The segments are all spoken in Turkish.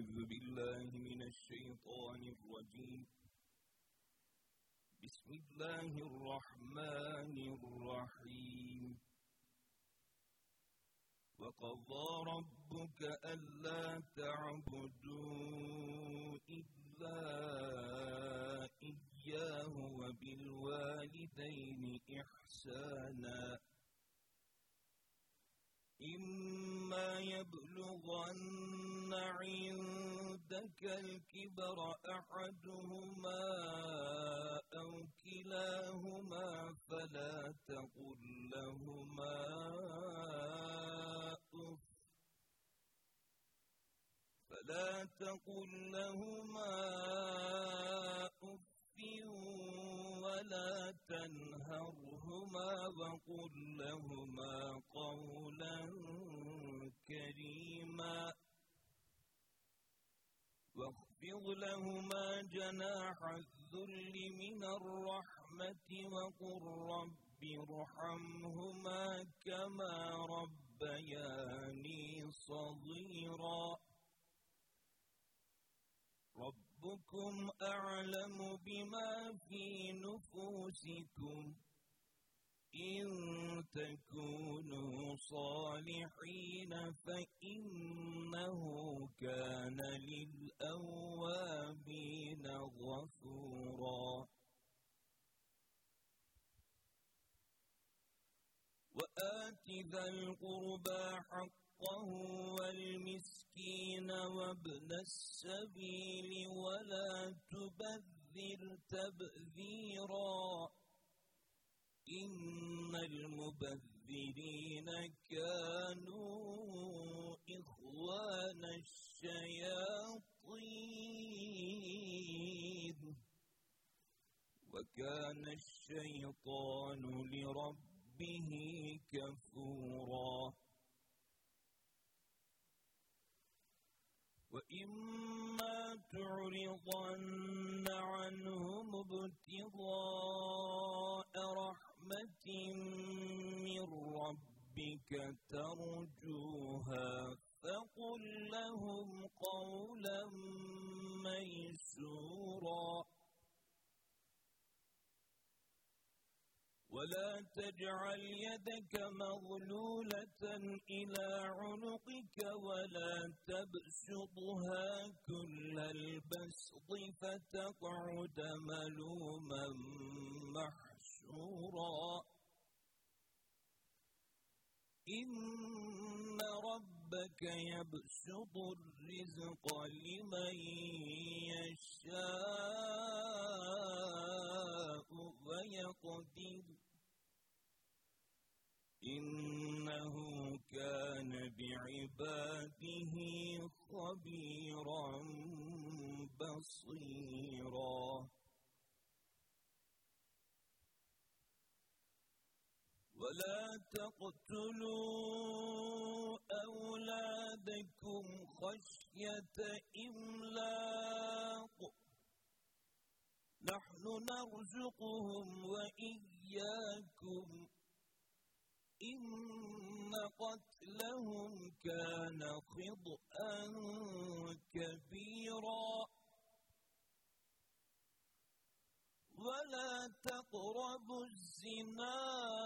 أعوذ بالله من الشيطان الرجيم. بسم الله الرحمن الرحيم. وقضى ربك ألا تعبدوا إلا إياه وبالوالدين إحسانا إما يبلغن عندك الكبر أحدهما أو كلاهما فلا تقل لهما أف ولا تنهرهما وقل لهما قولا كريما واخفض لهما جناح الذل من الرحمة وقل رب ارحمهما كما ربياني صغيرا. ربكم أعلم بما في نفوسكم إن تكونوا صالحين فإنه كان للأوابين غفورا. وآت ذا القربى حقه والمسكين وابن السبيل ولا تبذر تبذيرا إن المبذرين كانوا إخوان الشياطين وكان الشيطان لربه كفورا. وإما تعرضن عنهم ابتغاء رحمة من ربك ترجوها فقل لهم قولا ميسورا. ولا تجعل يدك مغلولة إلى عنقك ولا تبسطها كل البسط فتقعد ملوما محسورا. إن ربك يبسط الرزق لمن يشاء ويقدر إنه كان بعباده خبيرا بصيرا. ولا تقتلوا أولادكم خشية إملاق نحن نرزقهم وإياكم إن قتلهم كان خطأ كبيرا. ولا تقربوا الزنا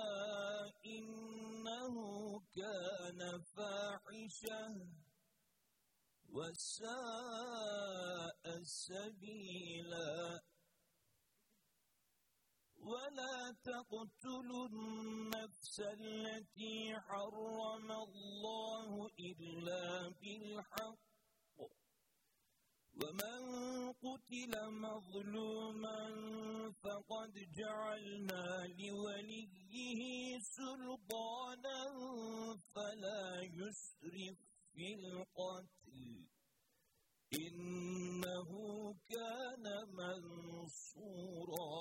إنه كان فاحشة وساء سبيلا. ولا تقتلوا النفس التي حرم الله إلا بالحق ومن قتل مظلوما فقد جعلنا لوليه سلطانا فلا يسرف في القتل إنه كان منصورا.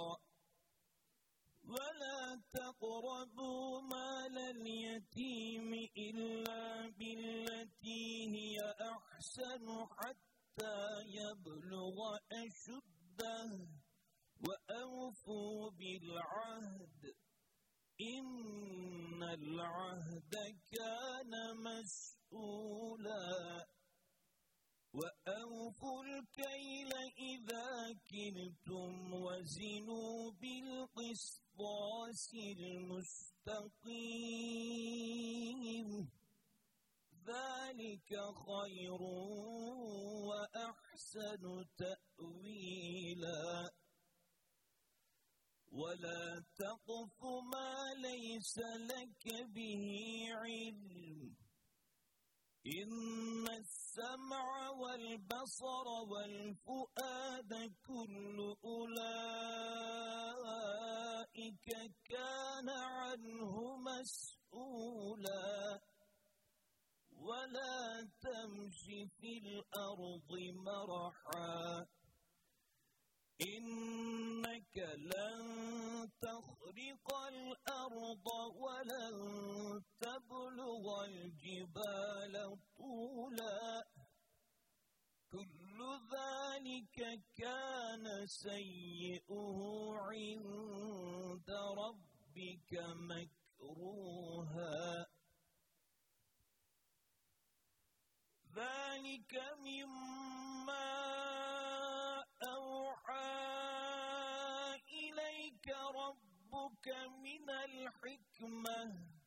ولا تقربوا مال اليتيم إلا بالتي هي أحسن حتى يبلغ أشده وأوفوا بالعهد إن العهد كان مسؤولا. وأوفوا الكيل إذا كلتم وزنوا بالقسطاس المستقيم ذلك خير وأحسن تأويلا ولا تقف ما ليس لك به علم إن السمع والبصر والفؤاد كل أولئك كان عنه مسؤولا ولا تمش في الأرض مرحا إنك لن تخرق الأرض ولن تبلغ الجبال طولا كل ذلك كان سيئه عند ربك مكروها ذلك مما أوحى إليك ربك من الحكمة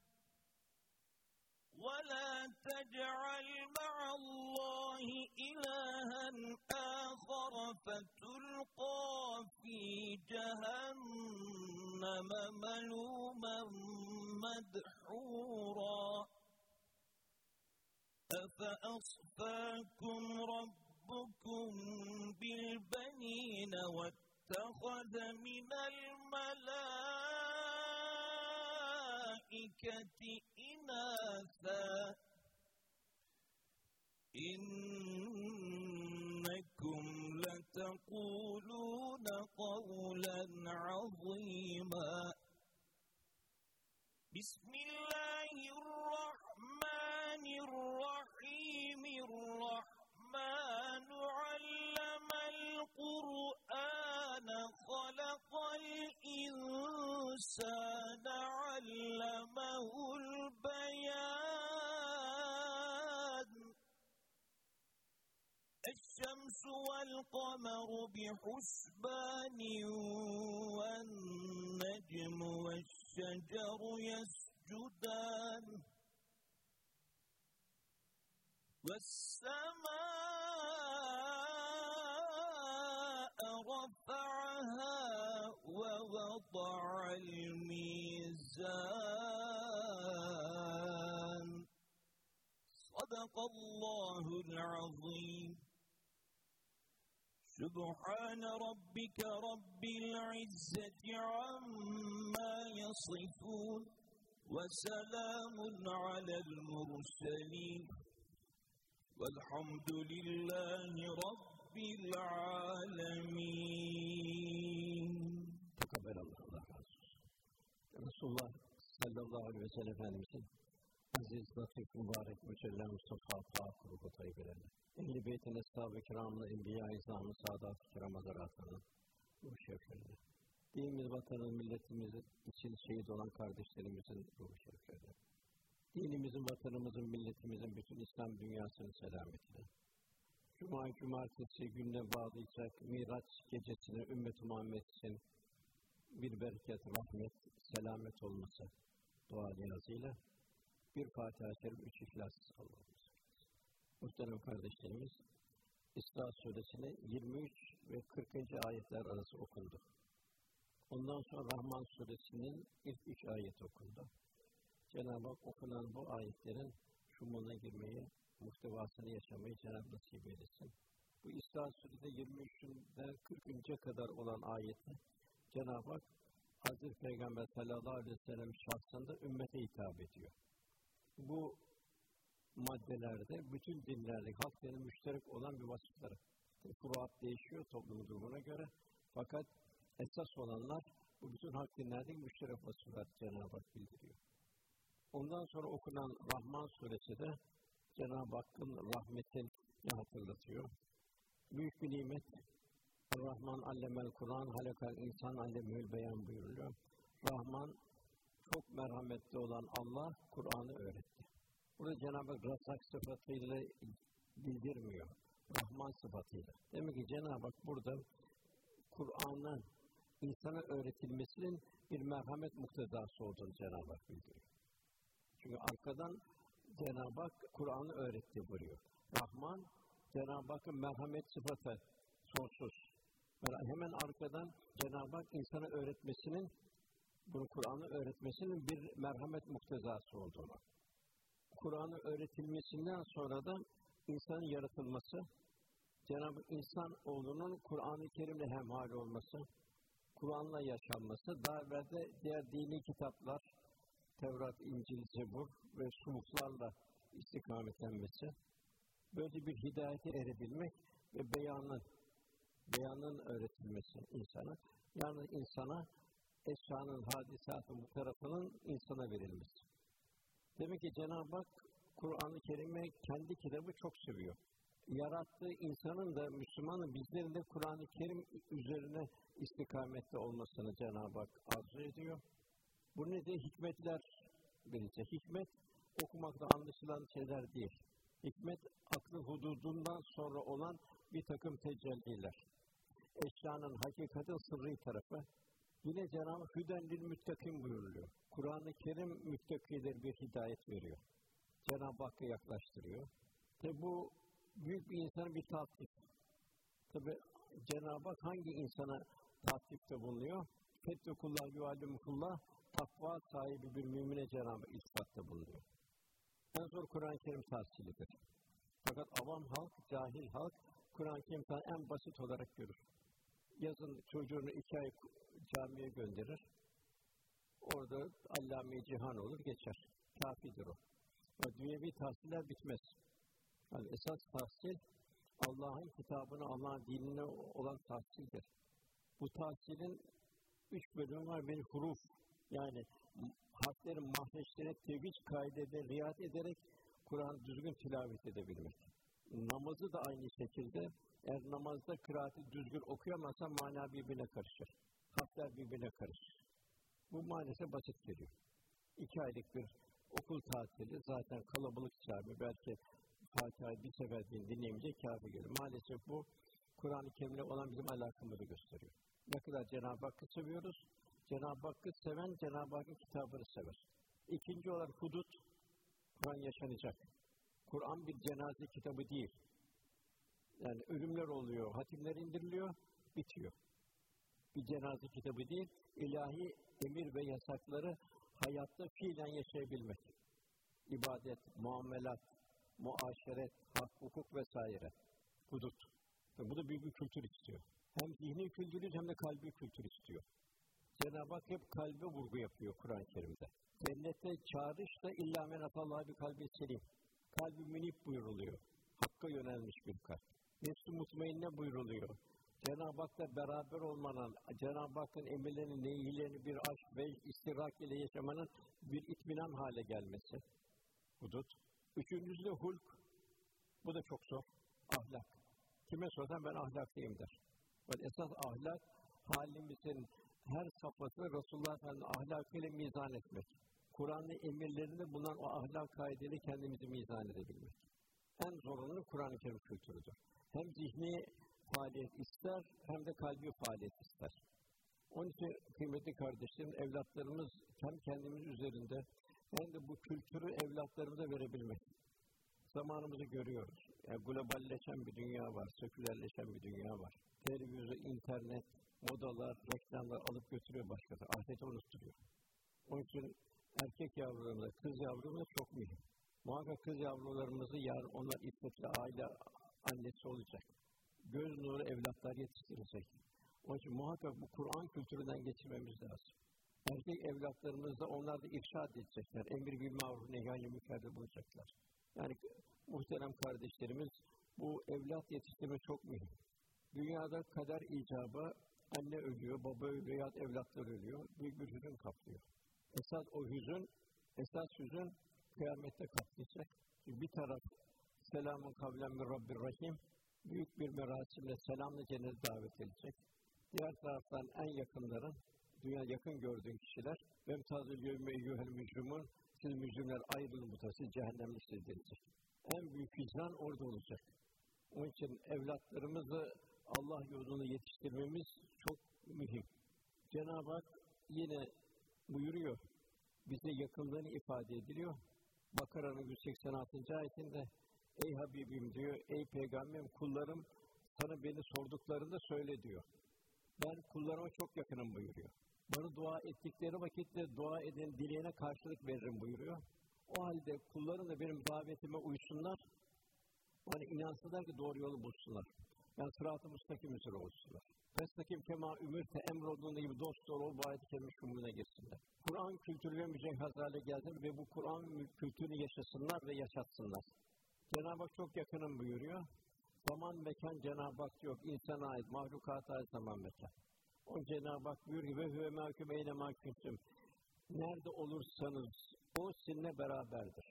ولا تجعل مع الله إلها آخر فتلقى في جهنم ملوما مدحورا أفأصفاكم ربكم بالبنين واتخذ من الملائكة إناثا إنكم لتقولون قولا عظيما بسم الله الرحمن الرحيم الرحمن علم القرآن خلق الإنسان علمه البيان الشمس والقمر بحسبان والنجم والشجر يسجدان والسماء رفعها ووضع الميزان صدق الله العظيم سبحان ربك رب العزة عما يصفون وسلام على المرسلين والحمد لله رب العالمين. Tekabber Allah razı olsun. Resulullah sallallahu aleyhi ve sellem Efendimizin aziz, latif, mübarek, mücella, Mustafa, Pak, ruhu tayyibelerine, ehl-i beytin, eshab-ı kiramlı, enbiya-i izam-ı saadat-ı kiram hazaratının ruhu şeriflerine, dinimiz, vatanımız, milletimiz için şehit olan kardeşlerimizin ruhu şeriflerine, dinimizin, vatanımızın, milletimizin, bütün İslam dünyasının selametine, cumartesi gününe bağlayacak Miraç gecesine ümmet-i Muhammed için bir bereket, rahmet, selamet olması dua niyazıyla bir Fatiha-i Şerif, 3 İhlas Allah'ımız. Muhterem kardeşlerimiz, İsra Suresi'nin 23 ve 40. ayetler arası okundu. Ondan sonra Rahman Suresi'nin ilk 3 ayeti okundu. Cenab-ı Hak okunan bu ayetlerin şumuna girmeyi, muhtevasını yaşamayı Cenab-ı nasip eylesin. Bu İsra Suresi 23'ünden 40'a kadar olan ayeti Cenab-ı Hak Hazreti Peygamber sallallahu aleyhi ve sellem şahsında ümmete hitap ediyor. Bu maddelerde bütün dinlerdeki halkların müşterek olan bir vasıfları. Furuat değişiyor toplumun durumuna göre. Fakat esas olanlar bu bütün halk dinlerdeki müşterek vasıflar Cenab-ı Hak bildiriyor. Ondan sonra okunan Rahman Suresi de Cenab-ı Hakk'ın rahmetini hatırlatıyor. Büyük bir nimet. Rahman allemel Kur'an, halakal insan allemül beyan buyuruluyor. Rahman, çok merhametli olan Allah, Kur'an'ı öğretti. Burada Cenab-ı Hak Razzak sıfatıyla bildirmiyor. Rahman sıfatıyla. Demek ki Cenab-ı Hak burada Kur'an'ın insana öğretilmesinin bir merhamet muktezası olduğunu Cenab-ı Hak bildiriyor. Çünkü arkadan Cenab-ı Hak Kur'an'ı öğretti buyuruyor. Rahman, Cenab-ı Hakk'ın merhamet sıfatı sonsuz. Hemen arkadan Cenab-ı Hak insana öğretmesinin, bunu Kur'an'ı öğretmesinin bir merhamet muktezası olduğunu. Kur'an'ı öğretilmesinden sonra da insanın yaratılması, Cenab-ı insan oğlunun Kur'an-ı Kerim'le hemhal olması, Kur'an'la yaşanması, daha evvel de diğer dini kitaplar, Tevrat, İncil, Zebur ve suhuflarla istikametlenmesi, böyle bir hidayete erebilmek ve beyanın öğretilmesi insana, yani insana eşyanın, hadisatın bu tarafının insana verilmesi. Demek ki Cenab-ı Hak Kur'an-ı Kerim'i kendi kitabı çok seviyor. Yarattığı insanın da, Müslümanın, bizlerin de Kur'an-ı Kerim üzerine istikamette olmasını Cenab-ı Hak arzu ediyor. Bu nedir? Hikmetler verecek. Hikmet, okumakta anlaşılan şeyler değil. Hikmet, aklı hududundan sonra olan bir takım tecelliler. Eşyanın, hakikatin sırrı tarafı. Yine Cenab-ı Hak Hüden-lil müttakin buyuruluyor. Kur'an-ı Kerim müttakiler bir hidayet veriyor. Cenab-ı Hakk'a yaklaştırıyor. Tabi bu büyük bir insanın bir tatif. Tabi Cenab-ı Hak hangi insana tatifte bulunuyor? Fettekullah yuallimukullah, takva sahibi bir mümine Cenab-ı Hak iltifatta bulunuyor. En zor Kur'an-ı Kerim tahsilidir. Fakat avam halk, cahil halk, Kur'an-ı Kerim en basit olarak görür. Yazın çocuğunu 2 ay camiye gönderir. Orada allame-i cihan olur, geçer. Kâfidir o. Dünyevi tahsiller bitmez. Yani esas tahsil, Allah'ın kitabına, Allah'ın dinine olan tahsildir. Bu tahsilin 3 bölümü var. Bir huruf, yani harflerin mahreçlerine tevhid kaidede riayet ederek Kur'an düzgün tilavet edebilmek. Namazı da aynı şekilde, eğer namazda kıraati düzgün okuyamazsa mana birbirine karışır. Harfler birbirine karışır. Bu maalesef basit geliyor. 2 aylık bir okul tatili, zaten kalabalık cami, belki Fatiha'yı bir sefer dinleyemeyecek kâfi geliyor. Maalesef bu, Kur'an-ı Kerim'le olan bizim alakamızı gösteriyor. Ne kadar Cenab-ı Hakk'ı seviyoruz, Cenab-ı Hakk'ı seven, Cenab-ı Hakk'ın kitabını sever. İkinci olarak hudut, Kur'an yaşanacak. Kur'an bir cenaze kitabı değil. Yani ölümler oluyor, hatimler indiriliyor, bitiyor. Bir cenaze kitabı değil, ilahi emir ve yasakları hayatta fiilen yaşayabilmek. İbadet, muamelat, muaşeret, hak, hukuk vesaire. Hudut. Bu da büyük bir kültür istiyor. Hem zihni kültürü hem de kalbi kültür istiyor. Cenab-ı Hak hep kalbe vurgu yapıyor Kur'an-ı Kerim'de. Cennette çağrış da illa men atallaha bi kalbi selim. Kalbi münip buyuruluyor. Hakka yönelmiş bir kalp. Nefs-i mutmainne buyuruluyor. Cenab-ı Hak'la beraber olmanın, Cenab-ı Hakk'ın emirlerini, nehirlerini bir aşk ve istirak ile yaşamanın bir itminan hale gelmesi. Hudut. Üçüncüsü de hulk. Bu da çok zor. Ahlak. Kime sorsam ben ahlaklıyım der. Esas ahlak, halimizin her safhasını Resulullah Efendimiz'in ahlakıyla mizan etmek. Kur'an'ın emirlerinde bulunan o ahlak kaideleri kendimizi mizan edebilmek. En zorunlu Kur'an-ı Kerim kültürüdür. Hem zihni faaliyet ister, hem de kalbi faaliyet ister. Onun için kıymetli kardeşlerim, evlatlarımız hem kendimiz üzerinde hem de bu kültürü evlatlarımıza verebilmek. Zamanımızı görüyoruz. Yani globalleşen bir dünya var, sekülerleşen bir dünya var. Televizyon, internet, modalar, reklamlar alıp götürüyor başkası. Ahireti unutturuyor. Onun için erkek yavrularımıza, kız yavrularımıza çok mühim. Muhakkak kız yavrularımızı yarın onlar iffetli aile annesi olacak. Göz nuru evlatlar yetiştirecek. Onun için muhakkak bu Kur'an kültüründen geçirmemiz lazım. Erkek evlatlarımızda onlar da irşad edecekler. Emir bil maruf nehy-i münker'de bulacaklar. Yani muhterem kardeşlerimiz, bu evlat yetiştirme çok mühim. Dünyada kader icabı, anne ölüyor, baba ölüyor, ya evlatlar ölüyor. Büyük bir hüzün kaplıyor. Esas hüzün kıyamette kaplayacak. Çünkü bir taraf selamun kavlen min Rabbir Rahim, büyük bir merasimle selamla cennete davet edilecek. Diğer taraftan en yakınların, dünya yakın gördüğün kişiler, vemtazül yevme eyyuhel mücrimun, siz mücrimler ayrılın mutası, cehennemlik siz denilecek. En büyük hicran orada olacak. Onun için evlatlarımızı Allah yolunda yetiştirmemiz çok mühim. Cenab-ı Hak yine buyuruyor, bize yakınlığını ifade ediliyor. Bakara'nın 186. ayetinde, ey Habibim diyor, ey Peygamberim, kullarım sana beni sorduklarında söyle diyor. Ben kullarıma çok yakınım buyuruyor. Bana dua ettikleri vakitte dua eden dileğine karşılık veririm buyuruyor. O halde kullarım da benim davetime uysunlar, bana inansınlar ki doğru yolu bulsunlar. Yani sırat-ı müstakim üzere olsunlar. Festakim kema ümürte emrolunduğu gibi dost doğru ol, bu ayet-i kerime şumuruna girsinler. Kur'an kültürüyle mücehhez hale gelsin ve bu Kur'an kültürünü yaşasınlar ve yaşatsınlar. Cenab-ı Hak çok yakınım buyuruyor. Zaman mekan Cenab-ı Hak yok. İnsana ait, mahlukata ait zaman mekan. O Cenab-ı Hak buyuruyor ve hüve mâküm eyle mâkümsüm. Nerede olursanız o sizinle beraberdir.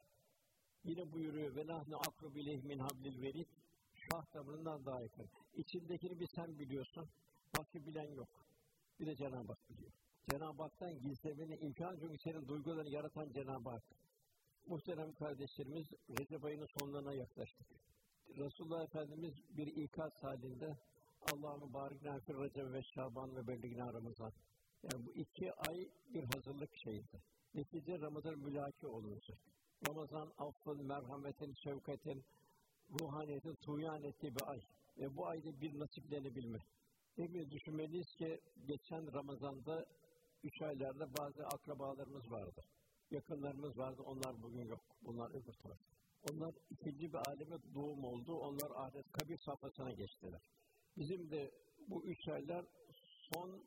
Yine buyuruyor ve nahnu akrubu ileyhi min hablil verid. Şah damarından daha yakın. İçindekini bir sen biliyorsun. Başka bilen yok. Bir de Cenab-ı Hak biliyor. Cenab-ı Hak'tan gizlemeni imkan, çünkü senin duygularını yaratan Cenab-ı Hak. Muhterem kardeşlerimiz, Recep ayının sonlarına yaklaştık. Resulullah Efendimiz bir ikaz halinde Allah'ın mübarek nâfir Recep ve Şaban ve belliğine Ramazan. Yani bu 2 ay bir hazırlık şeydi. Netice Ramazan mülaki olunacak. Ramazan affın, merhametin, şefkatin, ruhaniyetin tuğyan ettiği bir ay. Ve bu ayda bir nasiplenebilme. Hepimiz düşünmeliyiz ki geçen Ramazan'da 3 aylarda bazı akrabalarımız vardı. Yakınlarımız vardı, onlar bugün yok. Bunlar öbür taraf. Onlar ikinci bir aleme doğum oldu, onlar ahiret kabir safhasına geçtiler. Bizim de bu 3 aylar son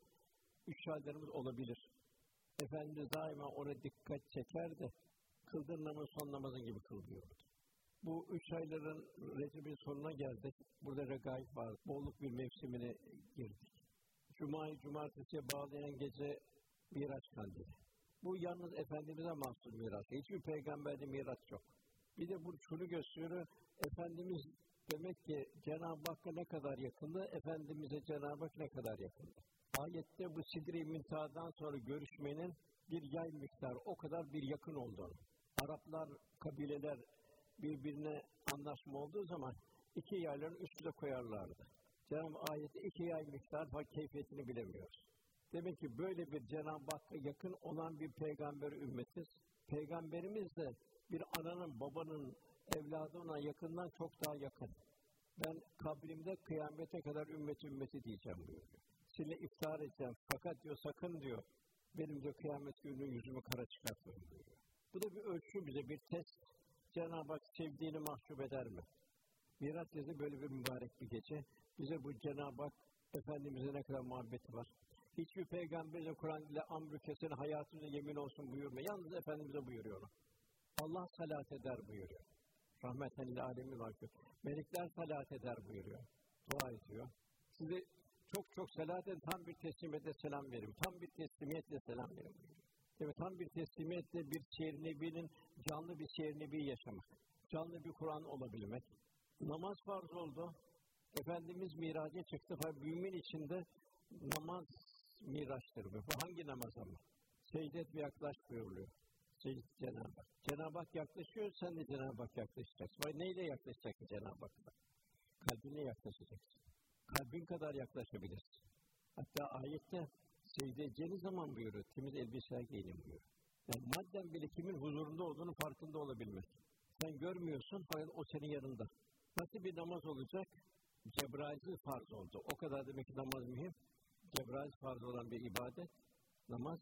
3 aylarımız olabilir. Efendimiz daima ona dikkat çeker de kıldığın namaz son namazın gibi kılıyordu. Bu 3 ayların Recep'in sonuna geldik. Burada regaib var. Bolluk bir mevsimine girdik. Cuma'yı cumartesiye bağlayan gece Miraç kandili. Bu yalnız Efendimiz'e mahsus miraç. Hiçbir peygamberde miraç yok. Bir de bu şunu gösteriyor. Efendimiz demek ki Cenab-ı Hakk'a ne kadar yakındı, Efendimiz'e Cenab-ı Hak ne kadar yakındı. Ayette bu Sidr-i Münteha'dan sonra görüşmenin bir yay miktarı o kadar bir yakın olduğunu. Araplar, kabileler birbirine anlaşma olduğu zaman 2 yayların üstüne koyarlardı. Cenab-ı ayette 2 yay miktar keyfiyetini bilemiyoruz. Demek ki böyle bir Cenab-ı Hakk'a yakın olan bir peygamber ümmetiz. Peygamberimiz de bir ananın, babanın, evladına yakından çok daha yakın. Ben kabrimde kıyamete kadar ümmeti diyeceğim buyuruyor. Sizinle iftar edeceğim fakat diyor sakın diyor benim diyor kıyamet günü yüzümü kara çıkartmayın buyuruyor. Bu da bir ölçü bize, bir test. Cenab-ı Hak sevdiğini mahcup eder mi? Miraç gecesi böyle bir mübarek bir gece. Bize bu Cenab-ı Hak Efendimiz'e ne kadar muhabbeti var. Hiçbir peygamberin Kur'an ile amr-ı kesin hayatımıza yemin olsun buyurmuyor. Yalnız Efendimiz'e buyuruyor. Allah salat eder buyuruyor. Rahmeten lil âlemin vakti. Melekler salat eder buyuruyor. Dua ediyor. Size çok salat edin, tam bir teslimiyetle selam verin. Tam bir teslimiyetle selam verin buyuruyor. Evet, tam bir teslimiyetle bir şiir nebinin, canlı bir şiir nebi yaşamak. Canlı bir Kur'an olabilmek. Namaz farz oldu. Efendimiz miraca çıktı. Mümin içinde namaz miraçtır. Bu hangi namaz ama? Secdet ve yaklaş buyuruluyor. Cenab-ı Hak. Cenab-ı Hak yaklaşıyor, sen de Cenab-ı Hak yaklaşacaksın. Neyle yaklaşacaksın Cenab-ı Hak'la? Kalbinle yaklaşacaksın. Kalbin kadar yaklaşabilirsin. Hatta ayette secde edeceğiniz zaman buyuruyor, temiz elbiseler giyinin buyuruyor. Yani madden bile kimin huzurunda olduğunu farkında olabilmek. Sen görmüyorsun, fakat o senin yanında. Nasıl bir namaz olacak? Cebrail'siz farz oldu. O kadar demek ki namaz mühim. Cebrail farz olan bir ibadet, namaz,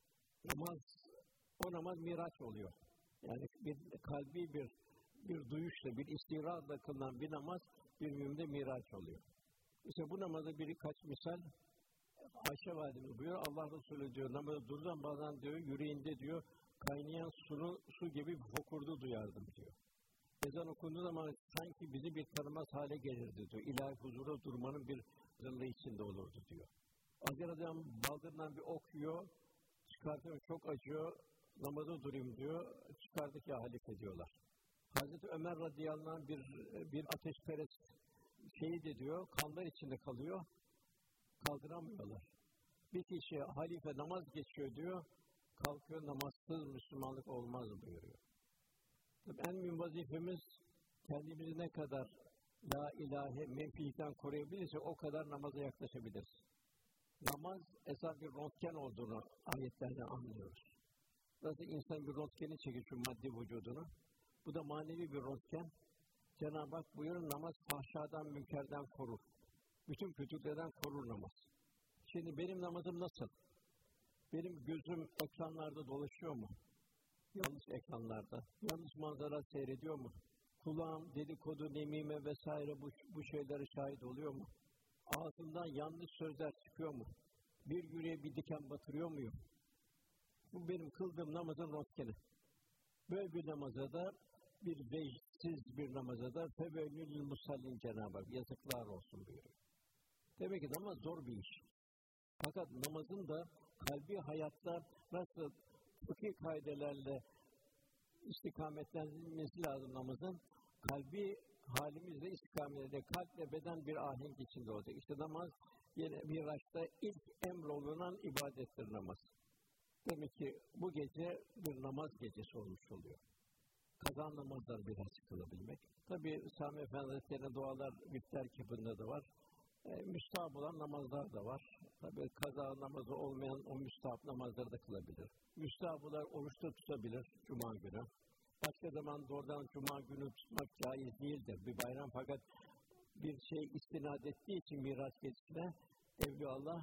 o namaz miraç oluyor. Yani bir kalbi bir duyuşla, bir istihrazla kılınan bir namaz bir müminde miraç oluyor. İşte bu namazda birkaç misal Ayşe Validemiz buyuruyor, Allah Resulü diyor, namazda dururken bazen diyor, yüreğinde diyor, kaynayan su gibi fokurdu duyardım diyor. Ezan okunduğu zaman sanki bizi bir tanımaz hale gelirdi diyor. İlahi huzura durmanın bir zırhlı içinde olurdu diyor. Acar adam baldırından bir ok yiyor, çıkartıyor, çok acıyor, namaza durayım diyor, çıkardık ya halife diyorlar. Hazreti Ömer radıyallahu anh bir ateşperest şehit ediyor, kanlar içinde kalıyor, kaldıramıyorlar. Bir kişi halife namaz geçiyor diyor, kalkıyor, namazsız Müslümanlık olmaz buyuruyor. En mühim vazifemiz kendimizi ne kadar la ilahe menfilikten koruyabilirse o kadar namaza yaklaşabiliriz. Namaz esas bir röntgen olduğunu ayetlerden anlıyoruz. Nasıl insan bir röntgeni çekiyor şu maddi vücudunu, bu da manevi bir röntgen. Cenab-ı Hak buyurun, namaz fahşadan, münkerden korur. Bütün kötülüklerden korur namaz. Şimdi benim namazım nasıl? Benim gözüm ekranlarda dolaşıyor mu? Yanlış ekranlarda. Yanlış manzara seyrediyor mu? Kulağım dedikodu, nemime vesaire bu şeylere şahit oluyor mu? Ağzımdan yanlış sözler çıkıyor mu? Bir yüreğe bir diken batırıyor muyum? Bu benim kıldığım namazın röntgeni. Böyle bir namaza da, bir vecsiz bir namaza da fevellül musallin Cenab-ı Hak yazıklar olsun buyuruyor. Demek ki namaz zor bir iş. Fakat namazın da kalbi hayatta nasıl fıkıh kaidelerle istikametlenmesi lazım namazın, kalbi halimizle istikametle, kalple beden bir ahenk içinde olacak. İşte namaz yine Miraç'ta ilk emrolunan ibadettir namaz. Demek ki bu gece bir namaz gecesi olmuş oluyor. Kaza namazları biraz kılabilmek. Tabii Sami Efendi Hazretleri'nin dualar Bifter kitabında da var. Müstahap olan namazlar da var. Tabii kaza namazı olmayan o müstahap namazları da kılabilir. Müstahaplar oruçta tutabilir Cuma günü. Başka zaman doğrudan Cuma günü tutmak caiz değildir. Bir bayram, fakat bir şey istinad ettiği için Miraç gecesine Evliyaullah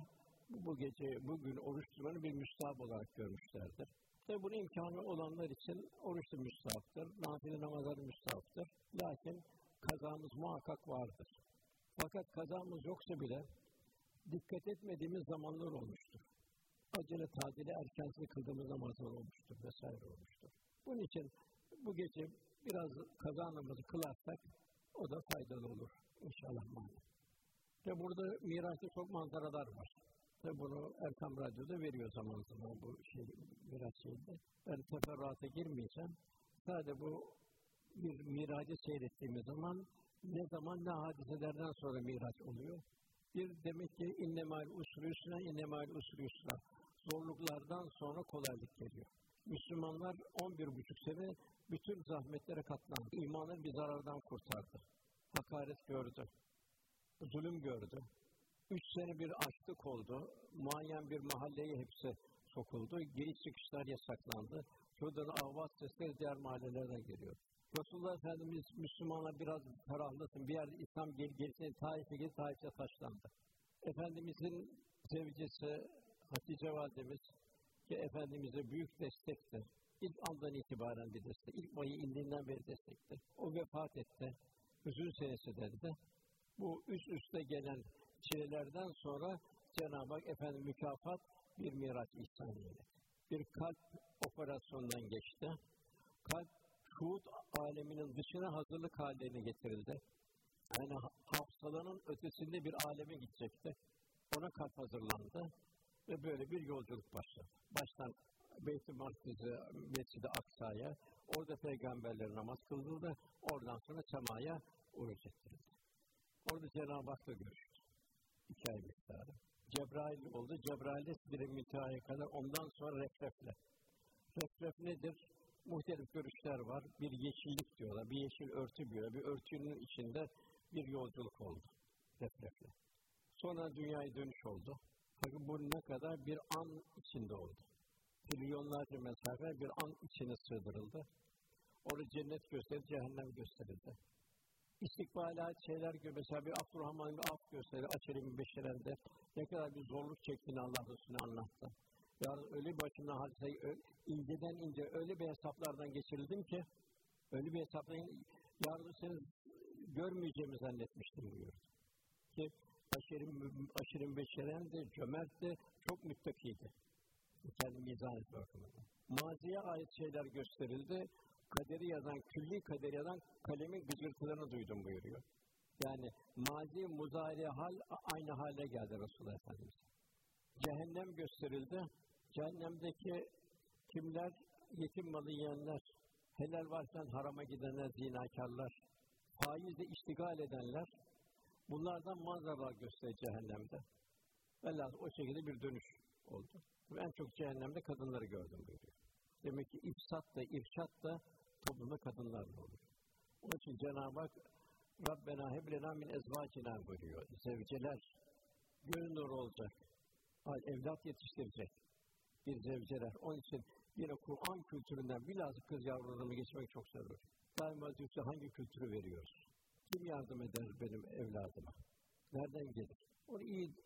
bugün oruç tutmanı bir müstahap olarak görmüşlerdir. Tabi bunun imkanı olanlar için oruç da müstahaptır, nafile namazlar müstahaptır. Lakin kazamız muhakkak vardır. Fakat kazamız yoksa bile dikkat etmediğimiz zamanlar olmuştur. Acele tadili erkensiz kıldığımız namazlar olmuştur vesaire olmuştur. Bunun için bu gece biraz kaza namazı kılarsak o da faydalı olur inşallah. Ve burada Miraç'ta çok manzaralar var. Tabi bunu Erkam Radyo'da veriyor zaman zaman bu Miraç şeyinde. Ben teferruata girmeyeceğim. Sadece bu bir Miraç'ı seyrettiğimiz zaman ne hadiselerden sonra Miraç oluyor. Bir demek ki innemâl usrü yusra, innemâl usrü yusra. Zorluklardan sonra kolaylık geliyor. Müslümanlar 11,5 sene bütün zahmetlere katlandı. İmanın bir zarardan kurtardı. Hakaret gördü. Zulüm gördü. 3 sene bir açlık oldu. Muayyen bir mahalleye hepsi sokuldu. Giriş çıkışlar yasaklandı. Şuradan ahvat sesleri diğer mahallelerden geliyor. Resulullah Efendimiz Müslümanlar biraz ferahlasın. Bir yerde İslam gelsin, Taif'e taşlandı. Efendimizin zevcesi Hatice Validemiz ki Efendimiz'e büyük destekti. İlk andan itibaren bir destek. İlk vahiy indiğinden beri destekti. O vefat etti. Hüzün senesi dendi. Bu üst üste gelen çilelerden sonra Cenab-ı Hak efendim mükafat bir Miraç ihsan eyledi. Bir kalp operasyonundan geçti. Kalp şuhud aleminin dışına hazırlık haline getirildi. Yani hafsalanın ötesinde bir aleme gidecekti. Ona kalp hazırlandı ve böyle bir yolculuk başladı. Baştan Beyt-i Makdis'e, Mescid-i Aksa'ya, orada peygamberler namaz kıldı, oradan sonra semaya uruç ettirildi. Orada Cenab-ı Hak'la görüştü. 2 ay miktarı. Cebrail oldu. Cebrail'de Sidr-i Münteha'ya kadar, ondan sonra Refref'le. Refref nedir? Muhtelif görüşler var. Bir yeşillik diyorlar. Bir yeşil örtü diyorlar. Bir örtünün içinde bir yolculuk oldu. Refref'le. Sonra dünyaya dönüş oldu. Fakat bu ne kadar? Bir an içinde oldu. Trilyonlarca mesafe bir an içine sığdırıldı. Orada cennet gösterildi, cehennem gösterildi. İstikbalat şeyler gibi, mesela bir Abdurrahman bir af gösteri, Açer-i Beşeren'de ne kadar bir zorluk çektiğini Allah Resulü'ne anlattı. Yani öyle bir başımdan hadiseyi inceden ince öyle bir hesaplardan geçirildim ki, öyle bir hesaplayın, yarın seni görmeyeceğimi zannetmiştim buyurdu. Ki Açer-i Beşeren de cömertti, çok müttakiydi. Kendi mizah bakımından. Maziye ait şeyler gösterildi. Kaderi yazan, külli kaderi yazan kalemin gıcırtılarını duydum buyuruyor. Yani mazi, muzari hal aynı hale geldi Resulullah Efendimiz. Cehennem gösterildi. Cehennemdeki kimler? Yetim malı yiyenler, helal varken harama gidenler, zinakarlar, faizle iştigal edenler, bunlardan manzaralar gösterir cehennemde. Velhâsıl o şekilde bir dönüş oldu. En çok cehennemde kadınları gördüm buyuruyor. Demek ki ifsat da, irşat da toplumda kadınlarla olur. Onun için Cenab-ı Hak Rabbena heblena min ezvacina buyuruyor. Zevceler göz nuru olacak. Evlat yetiştirecek bir zevceler. Onun için yine Kur'an kültüründen bilhassa kız yavrularımı geçmek çok zor. Daima diyorsa hangi kültürü veriyoruz? Kim yardım eder benim evladıma? Nereden gelir? Onu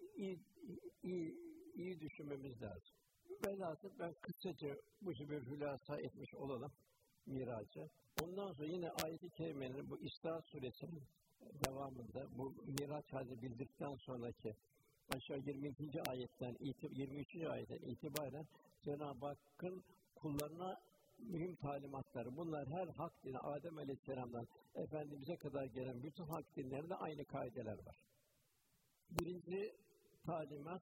iyi düşünmemiz lazım. Velhasıl ben kısaca bu gibi bir hülasa etmiş olalım miracı. Ondan sonra yine ayet-i kerimenin bu İsra suresinin devamında bu miraç halini bildirdikten sonraki aşağı 22. ayetten 23. ayetten itibaren Cenab-ı Hakk'ın kullarına mühim talimatları. Bunlar her hak dini Adem Aleyhisselam'dan Efendimiz'e kadar gelen bütün hak dinlerinde aynı kaideler var. Birinci talimat,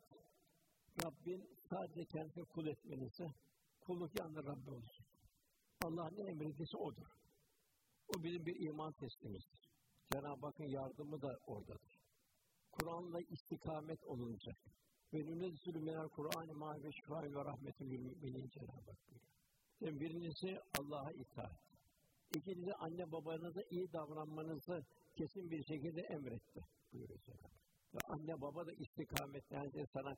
Rabbin sadece kendisine kul etmenizi, kulluk yalnız Rabbi olsun. Allah ne emrediyse O'dur. O bizim bir iman teslimizdir. Cenab-ı Hakk'ın yardımı da oradadır. Kur'an'la istikamet olunacak. Ve nünezzülü minel Kur'an-ı mâ ve şifâ'in ve rahmetül müminin Cenab-ı Hak buyuruyor. Yani birincisi Allah'a itaat. İkincisi anne babanıza iyi davranmanızı kesin bir şekilde emretti buyuruyor Cenab-ı Hak. Ve anne baba da istikamet, yani sana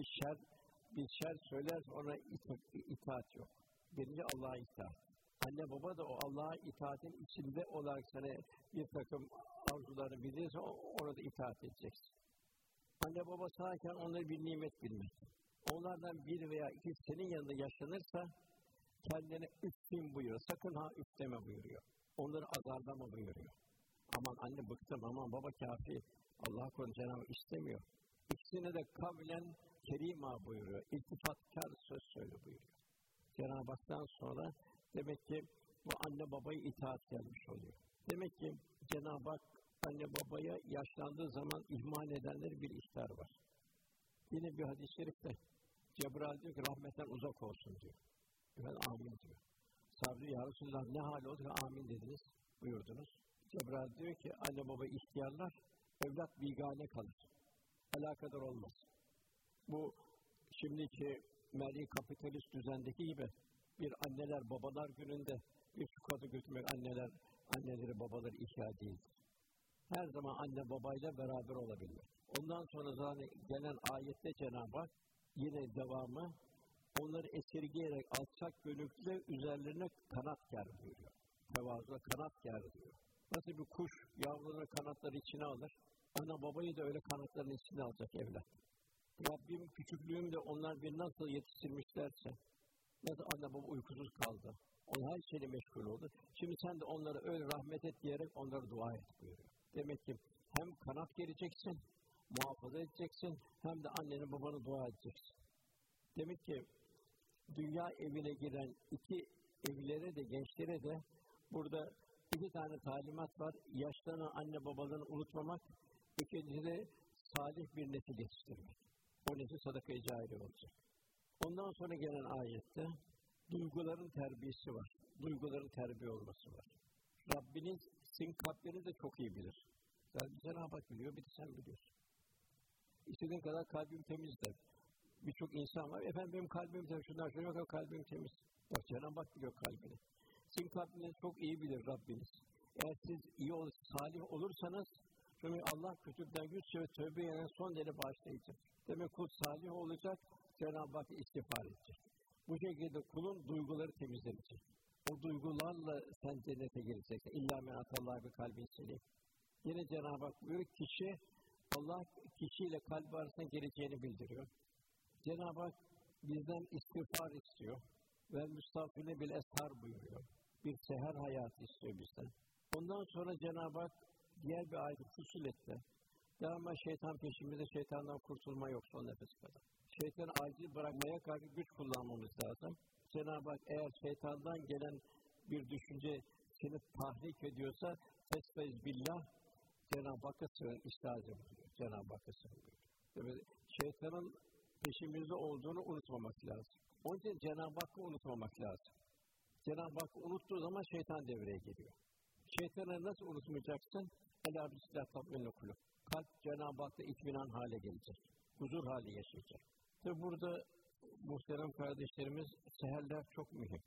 bir şer söylerse ona itaat yok. Birinci Allah'a itaat. Anne baba da o Allah'a itaatin içinde olarak sana bir takım arzularını bilirse ona da itaat edeceksin. Anne baba sağken onları bir nimet bilmek. Onlardan bir veya iki senin yanında yaşanırsa kendine üfleyin buyuruyor. Sakın ha üfleme buyuruyor. Onları azarlama buyuruyor. Aman anne bıktım, aman baba kâfi. Allah korusun Cenab-ı istemiyor. İkisine de kavlen kerîmâ buyuruyor. İltifatkar söz söyle buyuruyor. Cenab-ı Hak'tan sonra demek ki bu anne babaya itaat gelmiş oluyor. Demek ki Cenab-ı Hak anne babaya yaşlandığı zaman ihmal edenleri bir ihtar var. Yine bir hadis-i şerifte Cebrail diyor ki rahmetten uzak olsun diyor. Ben amin diyor. Sabri ya Resulullah ne hal oldu ki amin dediniz buyurdunuz. Cebrail diyor ki anne baba ihtiyarlar, evlat bigane kalır. Alakadar olmaz. Bu şimdiki mali kapitalist düzendeki gibi bir anneler babalar gününde bir çikolata götürmek anneleri babaları ihya değildir. Her zaman anne babayla beraber olabilir. Ondan sonra zaten gelen ayette Cenab-ı Hak yine devamı onları esirgeyerek alçak gönüllü üzerlerine kanat ger buyuruyor. Tevazuda kanat ger diyor. Nasıl bir kuş yavrunun kanatları içine alır, ana babayı da öyle kanatlarının içine alacak evlat. Rabbim küçüklüğümde onlar beni nasıl yetiştirmişlerse, nasıl anne baba uykusuz kaldı, onlar her şeyle meşgul oldu. Şimdi sen de onlara öyle rahmet et diyerek onlara dua et buyuruyor. Demek ki hem kanat gereceksin, muhafaza edeceksin, hem de annenin babanın dua edeceksin. Demek ki dünya evine giren iki evlere de gençlere de burada iki tane talimat var. Yaşlanan anne babalarını unutmamak, ikincisi de salih bir nesil yetiştirmek. O nesil sadaka-i cariye olacak. Ondan sonra gelen ayette duyguların terbiyesi var. Duyguların terbiye olması var. Rabbiniz sizin kalplerinizi de çok iyi bilir. Cenab-ı Hak biliyor, bir de sen biliyorsun. İstediğin kadar kalbim temizdir. Birçok insan var, efendim benim kalbim temiz, şundan şöyle bakın kalbim temiz. Bak Cenab-ı Hak biliyor kalbini. Sizin kalbinizi çok iyi bilir Rabbiniz. Eğer siz iyi salih olursanız, çünkü Allah kötülükten yüz çevir, tövbe eden son derece bağışlayıcı. Demek kul salih olacak, Cenab-ı Hak istiğfar edecek. Bu şekilde kulun duyguları temizlenecek. O duygularla sen cennete gireceksin. İllâ men atallâhe bi kalbin selîm. Yine Cenab-ı Hak buyuruyor, Allah kişiyle kalbi arasında geleceğini bildiriyor. Cenab-ı Hak bizden istiğfar istiyor. Ve müstağfirine bil eshar buyuruyor. Bir seher hayatı istiyor bizden. Ondan sonra Cenab-ı Hak diğer bir ayet-i Fussilet'te daima şeytan peşimizde, şeytandan kurtulma yok son nefes kadar. Şeytanı acil bırakmaya karşı güç kullanmamız lazım. Cenab-ı Hak eğer şeytandan gelen bir düşünce seni tahrik ediyorsa fesfez billah, Cenab-ı Hakk'a sığın, istihaz buyuruyor. Cenab-ı Hakk'a sığın buyuruyor. Şeytanın peşimizde olduğunu unutmamak lazım. Onun için Cenab-ı Hakk'ı unutmamak lazım. Cenab-ı Hakk'ı unuttuğu zaman şeytan devreye giriyor. Şeytanı nasıl unutmayacaksın? Elâ bismillah tatminül kulûb. Kalp Cenab-ı Hak'ta itminan hale gelecek. Huzur hali yaşayacak. Tabi burada muhterem kardeşlerimiz, seherler çok mühim.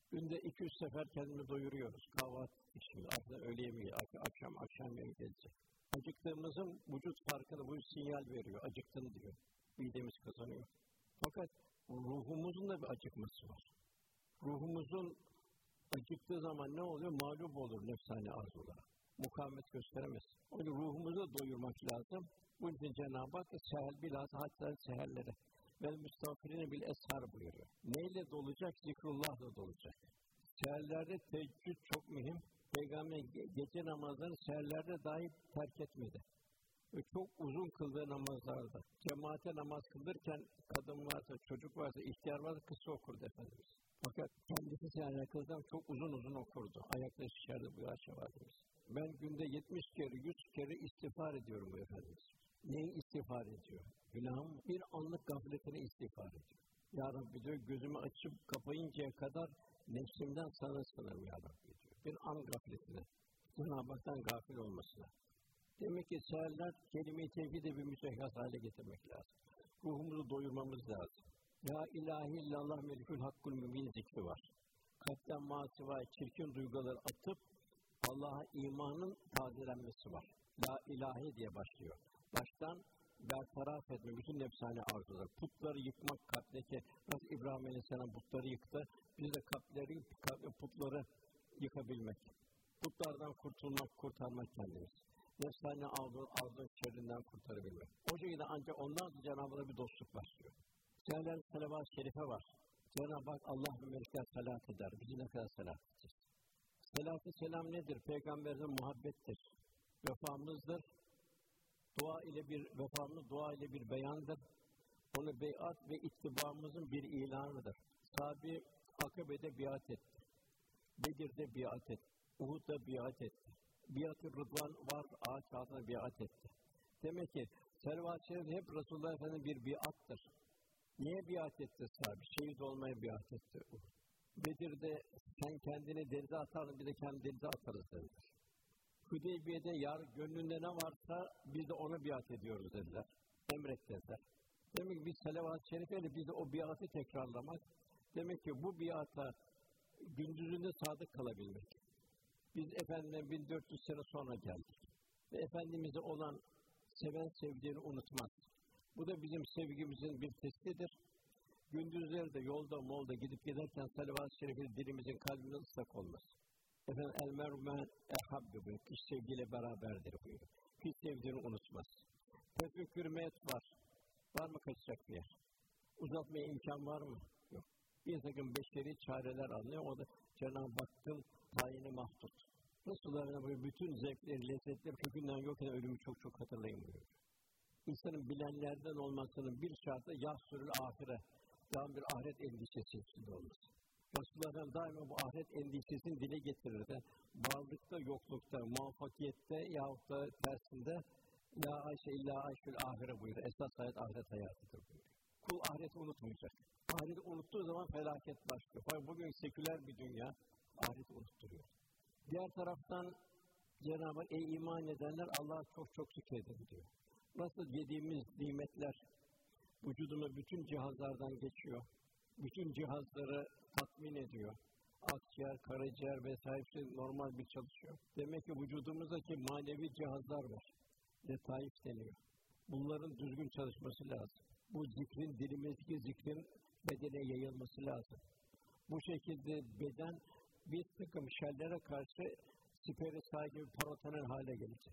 Günde 200 sefer kendimizi doyuruyoruz. Kahvaltı için, aslında öğle yemeği, akşam yemeği gelecek. Acıktığımızın vücut farkını, vücut sinyal veriyor. Acıktın diyor. Midemiz kazanıyor. Fakat ruhumuzun da bir acıkması var. Ruhumuzun acıktığı zaman ne oluyor? Mağlup olur nefsani arzulara. Mukavemet gösteremez. O yüzden ruhumuzu da doyurmak lazım. Bunun için Cenab-ı Hak bilhassa hatta seherlere vel müstağfirine bil eshar buyuruyor. Neyle dolacak? Zikrullah'la dolacak. Seherlerde teheccüd çok mühim. Peygamber gece namazlarını seherlerde dahi terk etmedi. Ve çok uzun kıldığı namazlarda. Cemaate namaz kıldırken kadın varsa, çocuk varsa, ihtiyar varsa kısa okurdu Efendimiz. Fakat kendisi seherler kıldığı çok uzun okurdu. Ayakta şişerdi bu yaşa vardığımız. Ben günde 70 kere, 100 kere istiğfar ediyorum bu Efendimiz. Neyi istiğfar ediyor? Günahım bir anlık gafletine istiğfar ediyor. Ya Rabbi diyor, gözümü açıp kapayıncaya kadar nefsimden sana sığınırım ya Rabbi diyor. Bir an gafletine, Cenab-ı Hak'tan gafil olmasına. Demek ki seherler kelime-i tevhide bir müsehhas hale getirmek lazım. Ruhumuzu doyurmamız lazım. Ya ilahe illallah melikül hakkul mübin zikri var. Kalpten masıva çirkin duyguları atıp Allah'a imanın tazelenmesi var. La ilahe diye başlıyor. Baştan bertaraf etme, bütün nefsani arzular. Putları yıkmak kalpteki, nasıl İbrahim Aleyhisselam putları yıktı, biz de putları yıkabilmek. Putlardan kurtarmak kendimiz. Nefsani arzu şerrinden kurtarabilmek. O şekilde ancak ondan sonra Cenab-ı Hak'la bir dostluk başlıyor. Seherler salavat-ı şerife var. Cenab-ı Hak Allah ve melekler salat eder. Bizi ne kadar salat edeceğiz? Salat-ı selam nedir? Peygamberimize muhabbettir. Vefamızdır. Vefamız dua ile bir beyandır. Onu beyat ve ittibamızın bir ilanıdır. Sahabe Akabe'de biat etti. Bedir'de biat etti. Uhud'da biat etti. Biat-ı Rıdvan var, ağaç altına biat etti. Demek ki salavat-ı şerif hep Resulullah Efendimiz bir biattır. Niye biat etti sahabe? Şehit olmaya biat etti. Bedir'de sen kendini denize atardın, biz de kendini denize atarız dediler. Hudeybiye'de gönlünde ne varsa biz de ona biat ediyoruz dediler. Emret dediler. Demek ki biz salavat-ı şerifeyle biz de o biatı tekrarlamak. Demek ki bu biata gündüzünde sadık kalabilmek. Biz Efendimiz'den 1400 sene sonra geldik. Ve Efendimiz'e olan seven sevdiğini unutmaz. Bu da bizim sevgimizin bir testidir. Gündüzleri de yolda gidip giderken salavat-ı şerifi dilimizin kalbinin ıslak olması. Efendim el-mer'u ehabbi buyuruyor. Kişi sevgiyle beraberdir buyuruyor. Kişi sevdiğini unutmaz. Tefekkür met var. Var mı kaçacak bir yer? Uzatmaya imkan var mı? Yok. Bir takım beşeri çareler anlıyor. O da Cenab-ı Hakk'ın tayini mahdut. Resulullah böyle bütün zevkleri, lezzetleri kökünden yok eden ölümü çok hatırlayın buyuruyor. İnsanın bilenlerden olmasının bir şartı yahsürül ahire. Daha bir ahiret endişesi içinde olması. Resulullah daima bu ahiret endişesini dile getirirdi. Varlıkta, yoklukta, muvaffakiyette yahut da tersinde La ayşe illa ayşül ahire buyuruyor. Esas hayat ahiret hayatıdır buyuruyor. Kul ahireti unutmayacak. Ahireti unuttuğu zaman felaket başlıyor. Fakat bugün seküler bir dünya ahireti unutturuyor. Diğer taraftan Cenab-ı Hak ey iman edenler Allah'a çok şükredin diyor. Nasıl yediğimiz nimetler vücuduma bütün cihazlardan geçiyor. Bütün cihazları tatmin ediyor. Akciğer, karaciğer vesaire normal bir çalışıyor. Demek ki vücudumuzdaki manevi cihazlar var. Letaif deniyor. Bunların düzgün çalışması lazım. Bu zikrin, dilimizdeki zikrin bedene yayılması lazım. Bu şekilde beden bir takım şerlere karşı siperi sahibi parotanel hale gelecek.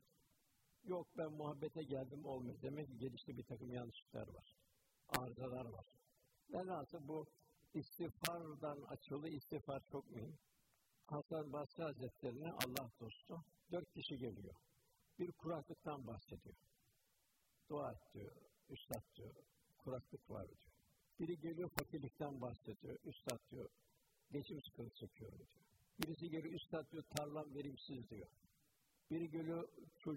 Yok ben muhabbete geldim olmuyor. Demek ki gelişte bir takım yanlışlıklar var. Arızalar var. Velhasıl bu istiğfardan açılı istiğfar çok mühim. Hasan Basri Hazretleri'ne Allah dostu 4 kişi geliyor. Bir kuraklıktan bahsediyor. Dua et diyor, üstad diyor, kuraklık var diyor. Biri geliyor fakirlikten bahsediyor, üstad diyor, geçim sıkıntı çekiyorum diyor. Birisi geliyor, üstad diyor, tarlam verimsiz diyor. Biri geliyor,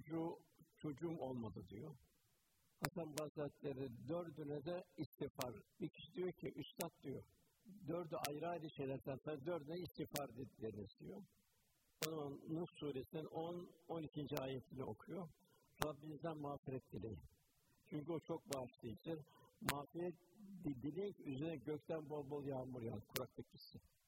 çocuğum olmadı diyor. Hasan Basri Hazretleri 4'üne de istiğfar. Bir kişi diyor ki, üstad diyor, 4'ü ayrı şeylerden sonra 4'üne istiğfar dediklerini diyor. O zaman Nuh Suresi'nin 10-12. ayetini okuyor. Rabbinizden mağfiret dileyin. Çünkü o çok bağışlayıcı. Mağfiret dileyin üzerine gökten bol bol yağmur yağar, kuraklık gitsin.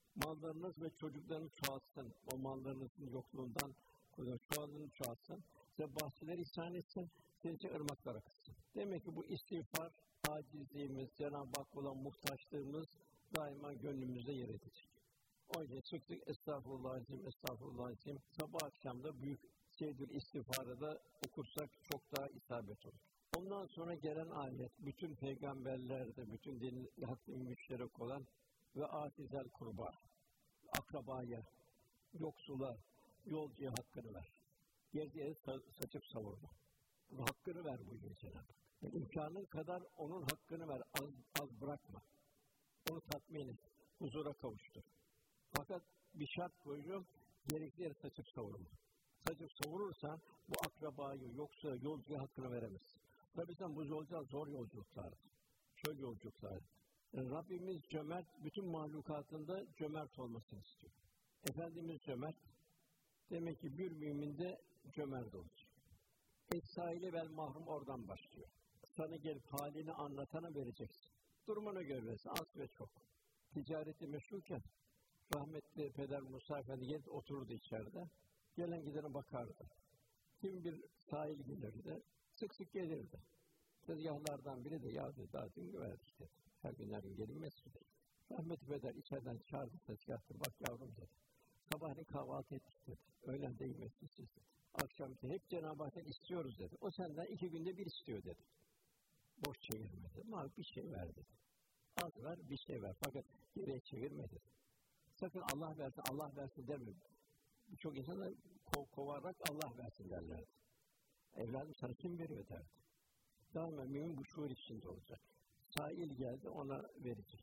Mallarınız ve çocuklarınız çoğalsın. O mallarınızın yokluğundan çoğalını çoğalsın. Size bahçeler ihsan etsin. Size ırmaklar akıtsın. Demek ki bu istiğfar, acizliğimiz, Cenab-ı Hakk'a olan muhtaçlığımız daima gönlümüzde yer edecek. O yüzden çıktık, estağfurullahalizim, estağfurullahalizim. Sabah akşam da büyük seyyidül istiğfarı da okursak çok daha isabet olur. Ondan sonra gelen ayet, bütün peygamberlerde, bütün din hakkı müşterek olan ve atizel kurba, akrabaya, yoksula, yolcuya hakkını ver. Gerdiğe saçıp savurma. Bunun hakkını ver buyuruyor Cenab-ı Hak. Yani imkanın kadar onun hakkını ver, az bırakma. Onu tatmin et, huzura kavuştur. Fakat bir şart koyuyor, gerekli yere saçıp savurma. Saçıp savurursan bu akrabayı, yoksa yolcuya hakkını veremezsin. Tabii sen bu yolcular zor yolculuklardır. Çöl yolculuklardır. Yani Rabbimiz cömert, bütün mahlukatında cömert olmasını istiyor. Efendimiz cömert, demek ki bir mümin de cömert olacak. Es-saili vel mahrum oradan başlıyor. Sana gelip halini anlatana vereceksin. Durumuna göre verirsin, az ve çok. Ticareti meşhurken, rahmetli Peder Musa Efendi gelip otururdu içeride. Gelen gidene bakardı. Kim bir sahil gelirdi, sık sık gelirdi. Tezgahlardan biri de ya dedi, daha dün verdik dedi. Her günlerin gelinmesi dedi. Rahmetli Peder içeriden çağırdı tezgahta, bak yavrum dedi. Sabahleyin kahvaltı ettik dedi. Öğlen de yemeksiz dedi. Akşam hep Cenab-ı Hak'tan istiyoruz dedi. O senden 2 günde bir istiyor dedi. Boş çevirme dedi. Ama bir şey ver dedi. Az ver, bir şey ver. Fakat geriye çevirme dedi. Sakın Allah versin deme. Birçok insan da kovarak Allah versin derlerdi. Evladım sana kim veriyor derdi. Daima mümin bu şuur içinde olacak. Sail geldi ona verecek.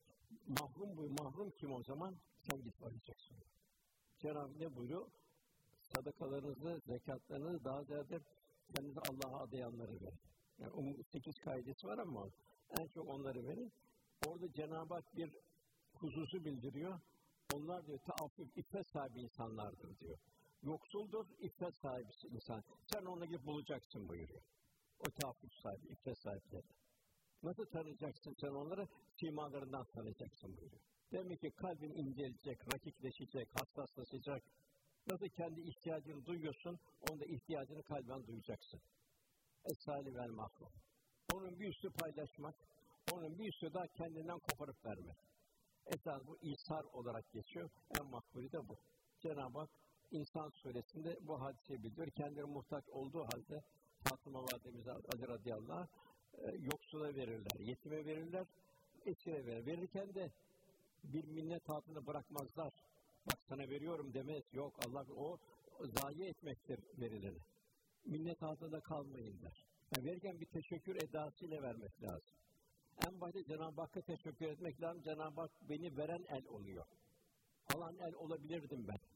Mahrum kim o zaman? Sen git vereceksin. Cenab-ı ne buyuruyor? Sadakalarınızı, zekatlarınızı daha ziyade kendinizi Allah'a adayanları verin. Yani 8 kaidesi var ama en çok onları verin. Orada Cenab-ı Hak bir hususu bildiriyor. Onlar diyor taaffuf, iffet sahibi insanlardır diyor. Yoksuldur, iffet sahibi insan. Sen onu gidip bulacaksın buyuruyor. O taaffuf sahibi, iffet sahipleri. Nasıl tanıyacaksın sen onları? Simalarından tanıyacaksın buyuruyor. Demek ki kalbin incelecek, rakikleşecek, hassaslaşacak. Nasıl kendi ihtiyacını duyuyorsun, onun da ihtiyacını kalben duyacaksın. Es-sali vel mahrum. Onun bir üstü paylaşmak, onun bir üstü daha kendinden koparıp vermek. Esas bu İsar olarak geçiyor. En makbulü de bu. Cenab-ı Hak İnsan Suresi'nde bu hadiseyi bildiriyor. Kendileri muhtaç olduğu halde Fatıma Validemiz Ali radıyallahu anh yoksula verirler, yetime verirler, esire verirler. Verirken de bir minnet altında bırakmazlar. Bak sana veriyorum demez. Yok Allah o zayi etmektir verileni. Minnet altında kalmayın der. Yani verirken bir teşekkür edasıyla vermek lazım. En başta Cenab-ı Hakk'a teşekkür etmek lazım. Cenab-ı Hak beni veren el oluyor. Alan el olabilirdim ben.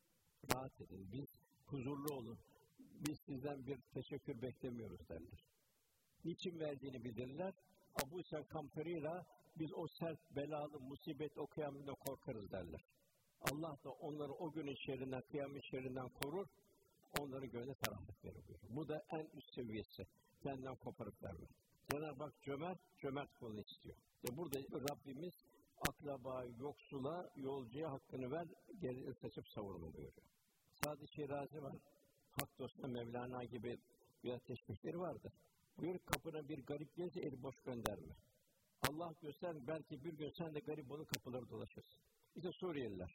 Rahat edin. Biz huzurlu olun. Biz sizden bir teşekkür beklemiyoruz derler. Niçin verdiğini bilirler. Abu İshak Kamperira biz o sert, belalı, musibet o kıyamında korkarız derler. Allah da onları o günün şerrinden, kıyamet şerrinden korur. Onların gönlüne ferahlık verir. Bu da en üst seviyesi. Kendinden koparıp vermek. Cenab-ı Hak cömert kulunu istiyor. Burada Rabbimiz akraba, yoksula, yolcuya hakkını ver, geri saçıp savurma buyuruyor. Sadi Şirazi var. Hak dostuna Mevlana gibi biraz teşbihleri vardır. Buyur kapına bir garip gelse eli boş gönderme. Allah göster belki bir gün sen de garip olup kapıları dolaşırsın. İşte Suriyeliler.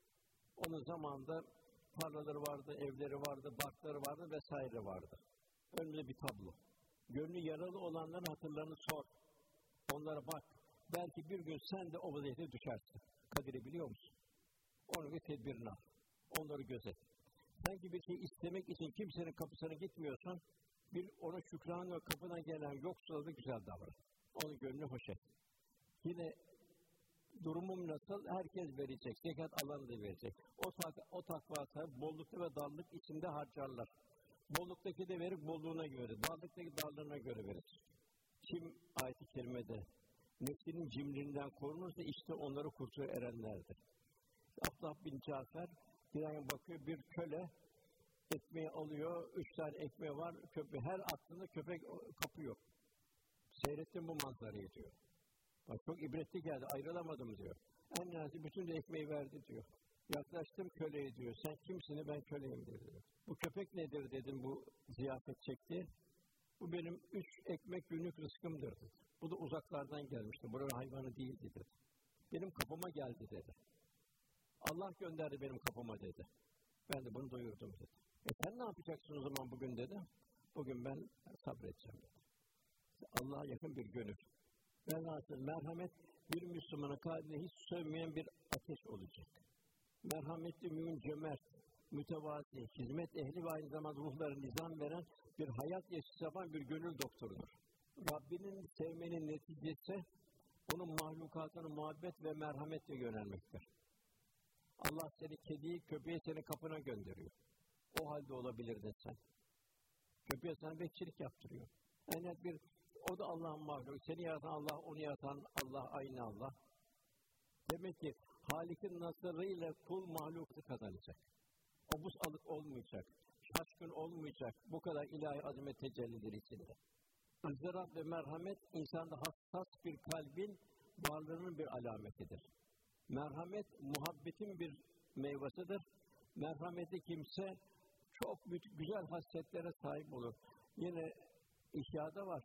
Onun zamanında tarlaları vardı, evleri vardı, barkları vardı vesaire vardı. Önünde bir tablo. Gönlü yaralı olanların hatırlarını sor. Onlara bak. Belki bir gün sen de o vaziyete düşersin. Kadiri biliyor musun? Onun bir tedbirini al. Onları gözet. Sanki bir şey istemek için kimsenin kapısına gitmiyorsan, ona şükran ve kapıdan gelen yoksula da güzel davran. Onun gönlünü hoş et. Yine durumum nasıl? Herkes verecek. Zekat alanı da verecek. O takva sahibi bollukta ve darlık içinde harcarlar. Bolluktaki de verir, bolluğuna göre. Darlıktaki darlığına göre verir. Kim ayet-i kerimede nefsinin cimrinden korunursa işte onları kurtuya erenlerdir. Abdullah bin Cafer bir an bakıyor bir köle ekmeği alıyor, 3 tane ekmeği var, her attığında köpek kapıyor. Seyrettim bu manzarayı diyor. Bak çok ibretli geldi, ayrılamadım diyor. En nihayetinde bütün de ekmeği verdi diyor. Yaklaştım köleye diyor. Sen kimsin? Ben köleyim dedi. Bu köpek nedir dedim bu ziyafet çekti. Bu benim 3 ekmek günlük rızkımdır dedi. Bu da uzaklardan gelmişti. Buranın hayvanı değildi dedi. Benim kapıma geldi dedi. Allah gönderdi benim kapıma dedi. Ben de bunu doyurdum dedi. Sen ne yapacaksın o zaman bugün dedi. Bugün ben sabredeceğim dedi. Allah'a yakın bir gönül. Velhasıl merhamet bir Müslümanın kalbine hiç sönmeyen bir ateş olacak. Merhametli, mümin, cömert, mütevazi, hizmet ehli ve aynı zamanda ruhlara nizam veren bir hayat yaşayan bir gönül doktorudur. Rabbinin sevmenin neticesi onun mahlukatına muhabbet ve merhametle yönelmektir. Allah seni kediyi, köpeği senin kapına gönderiyor. O halde olabilirdin sen. Köpeğe sana bekçilik yaptırıyor. Yani o da Allah'ın mahluku. Seni yaratan Allah, onu yaratan Allah, aynı Allah. Demek ki Halik'in nazarıyla kul mahluku kazanacak. Obuz alık olmayacak. Şaşkın olmayacak. Bu kadar ilahi azamet tecellidir içinde. ızdırap ve merhamet insanda hassas bir kalbin varlığının bir alametidir. Merhamet muhabbetin bir meyvesidir. Merhametli kimse çok güzel hasletlere sahip olur. Yine İhya'da var.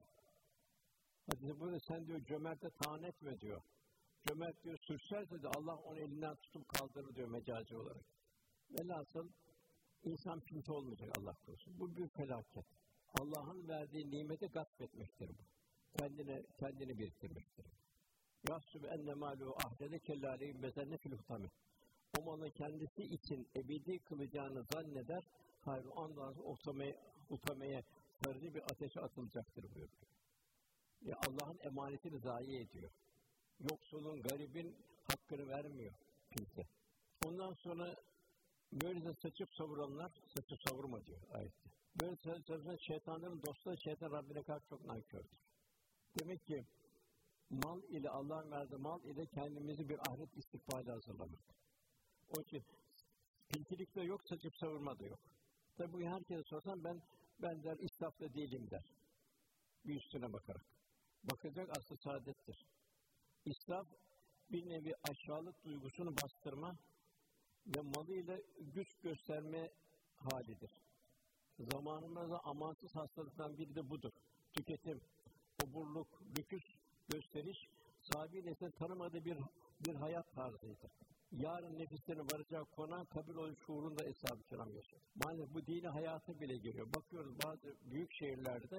Hadis-i burada sen diyor cömerte taan etme diyor. Cömert diyor sürserse de Allah onu elinden tutup kaldırır diyor mecazi olarak. Velhasıl insan pinti olmayacak Allah korusun. Bu bir felaket. Allah'ın verdiği nimeti gasp etmektir bu. Kendini biriktirmektir. Yahsübe enne mâluhu ahdede kellâleyhim bezenne fil hutami. O malın kendisi için ebedi kılacağını zanneder, hayır ondan utamaya sarıcı bir ateşe atılacaktır buyuruyor. Allah'ın emanetini zayi ediyor. Yoksulun, garibin hakkını vermiyor kimse. Ondan sonra böylece saçıp savuranlar, saçıp savurma diyor ayette. Böyle savuran şeytanların dostları, şeytan Rabbine karşı çok nankördür. Demek ki mal ile Allah'ın verdiği mal ile kendimizi bir ahiret istikbali hazırlamak. O için pintilik de yok, saçıp savurma da yok. Tabi bu herkese sorsan ben der israfta değilim der. Bir üstüne bakarak. Bakacak aslı saadettir. İsraf bir nevi aşağılık duygusunu bastırma ve malıyla güç gösterme halidir. Zamanımızda amansız hastalıktan biri de budur. Tüketim, oburluk, lüküs, gösteriş, sahibi nesil tanımadığı bir hayat tarzıydı. Yarın nefislerin varacağı konağı kabul oluş şuurunda eshab-ı kiram yaşadı. Maalesef bu dini hayata bile geliyor. Bakıyoruz bazı büyük şehirlerde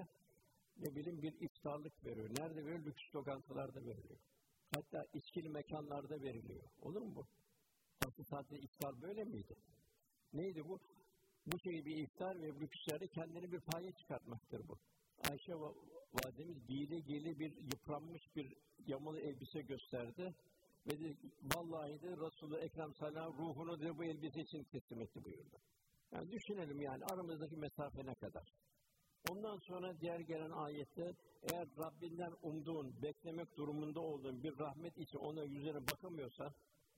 bir iftarlık veriyor. Nerede veriyor? Lüks lokantalarda veriliyor. Hatta içkili mekanlarda veriliyor. Olur mu bu? Asıl sadece iftar böyle miydi? Neydi bu? Bu şey bir iftar ve lükslerde kendini bir paya çıkartmaktır bu. Ayşe validemiz giyili bir yıpranmış bir yamalı elbise gösterdi. Ve de, vallahi de Resulü Ekrem sallallahu ruhunu da bu elbise için teslim etti buyurdu. Yani düşünelim yani aramızdaki mesafe ne kadar. Ondan sonra diğer gelen ayette eğer Rabbinden umduğun, beklemek durumunda olduğun bir rahmet için ona yüzüne bakamıyorsa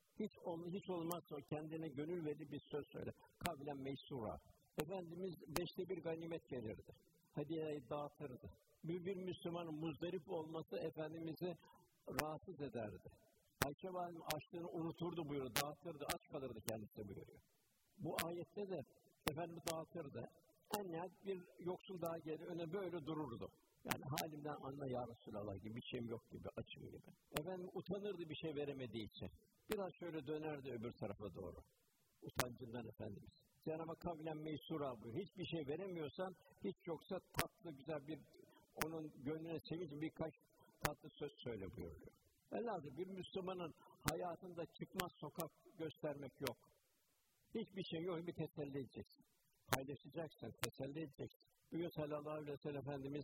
hiç olmazsa kendine gönül verdiği bir söz söyle. Kavlen meysura. Efendimiz 5'te 1 ganimet gelirdi. Hediyeyi dağıtırdı. Bir Müslümanın muzdarip olması Efendimiz'i rahatsız ederdi. Ayşe validem açlığını unuturdu buyuruyor, dağıtırdı, aç kalırdı kendisi buyuruyor. Bu ayette de Efendimiz dağıtırdı. En nihayet bir yoksul daha gelir, öne böyle dururdu. Yani halimden anla ya Resulallah gibi, bir şeyim yok gibi, açım gibi. Efendim utanırdı bir şey veremediği için. Biraz şöyle dönerdi öbür tarafa doğru. Utancından Efendimiz. Cenab-ı Hak kavlen meysura buyuruyor. Hiçbir şey veremiyorsan, hiç yoksa tatlı güzel bir, onun gönlüne sevinç birkaç tatlı söz söyle buyuruyor. Elbette bir Müslümanın hayatında çıkmaz sokak göstermek yok. Hiçbir şey yok, bir teselli edeceksin. Paylaşacaksın, teselli edeceksin. Bugün sallallahu aleyhi ve sellem Efendimiz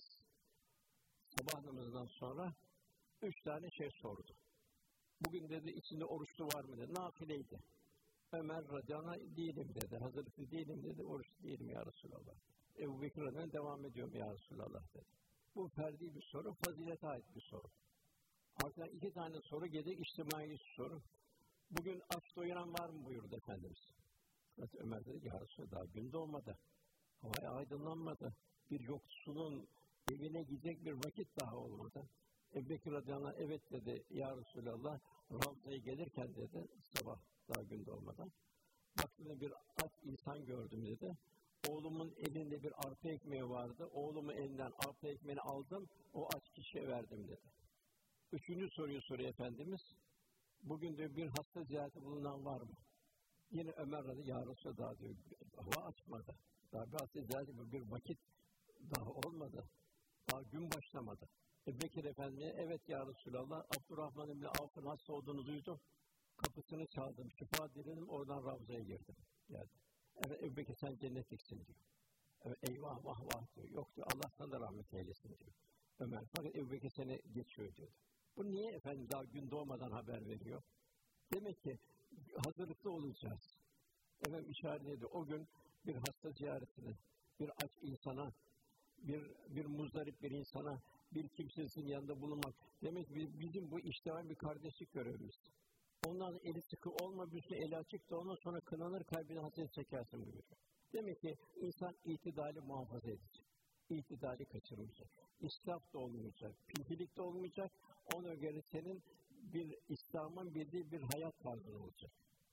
sabah namazından sonra 3 tane şey sordu. Bugün dedi içinde oruçlu var mı dedi, nafileydi. Ömer radıyallahu değilim dedi, hazırlıklı değilim dedi, oruçlu değilim ya Resulallah. Ebu Bekir radıyallahu devam ediyorum ya Resulallah dedi. Bu ferdi bir soru, fazilete ait bir soru. Arkadan 2 tane soru gelecek, içtimai soru. Bugün aç doyuran var mı buyurdu Efendimiz. Ömer dedi ki ya Resulallah daha gün doğmadı. Hava aydınlanmadı. Bir yoksulun evine gidecek bir vakit daha olmadı. Ebu Bekir radıyallahu anh evet dedi, ya Resulallah, Ravza'ya gelirken dedi, sabah daha gün doğmadan, baktığımda bir aç insan gördüm dedi. Oğlumun elinde bir arpa ekmeği vardı. Oğlumun elinden arpa ekmeğini aldım, o aç kişiye verdim dedi. Üçüncü soruyu soruyor Efendimiz. Bugün diyor bir hasta ziyareti bulunan var mı? Yine Ömer radıyallahu anh, ya Resulallah diyor, hava açmadı. Daha bir hasta ziyareti bir vakit daha olmadı. Daha gün başlamadı. Ebu Bekir Efendi'ye evet ya Resulallah, Abdurrahman İbni Avf'ın hasta olduğunu duydum. Kapısını çaldım, şifa diledim, oradan Ravza'ya girdim. Geldi. Evet Ebu Bekir sen cennetliksin diyor. Evet eyvah vah vah diyor. Yok diyor, Allah sana da rahmet eylesin diyor. Ömer fakat Ebu Bekir seni geçiyor diyor. Bu niye efendim daha gün doğmadan haber veriyor? Demek ki hazırlıklı olacağız. Efendim işaret ediyor. O gün bir hasta ziyaretine, bir aç insana, bir muzdarip bir insana, bir kimsesinin yanında bulunmak. Demek ki bizim bu işten bir kardeşlik görevimiz. Ondan eli sıkı olma, bir şey eli açık da ondan sonra kınanır, kalbine hasret çekersin buyuruyor. Demek ki insan itidali muhafaza edecek. İtidali kaçırmayacak. İsraf da olmayacak, pintilik de olmayacak. Ona göre senin bir İslam'ın bildiği bir hayat tarzı olacak.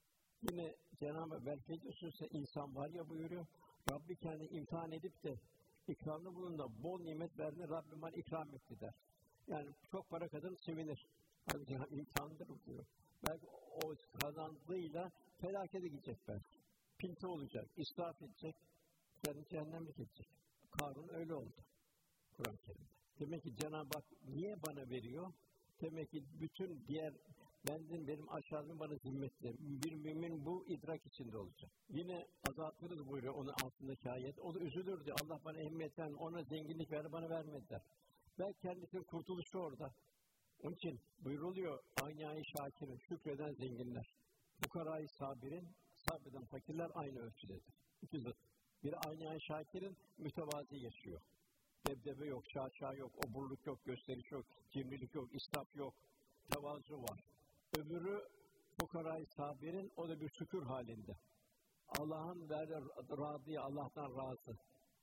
Yine Cenab-ı Hak belki insan var ya buyuruyor, Rabbi kendini imtihan edip de ikramda bulunduğunda bol nimet verdiğinde Rabbim bana ikram etti der. Yani çok para kadın sevinir. Hani imtihandır diyor. Belki o kazandığıyla felakete gidecek belki. Pinti olacak, israf edecek, kendi cehennemlik edecek. Karun öyle oldu Kur'an-ı Kerim'de. Demek ki Cenab-ı Hak niye bana veriyor? Demek ki bütün diğer benim aşağıdığım bana zimmetli. Bir mümin bu idrak içinde olacak. Yine azaltırız buyuruyor onun altındaki ayet. O da üzülürdü. Allah bana ehemmiyetten, ona zenginlik verdi, bana vermediler. Belki kendisinin kurtuluşu orada. Onun için buyruluyor, Âni şakirin, şükreden zenginler. Fukarâ-i sabirin, sabreden fakirler aynı ölçüdedir. İki zıt. Bir Âni şakirin mütevazi yaşıyor. Debdebe yok, şaşa yok, oburluk yok, gösteriş yok, cimrilik yok, israf yok, tevazu var. Öbürü fukarâ-i sabirin, o da bir şükür halinde. Allah'ın verdiği râdiye, Allah'tan razı.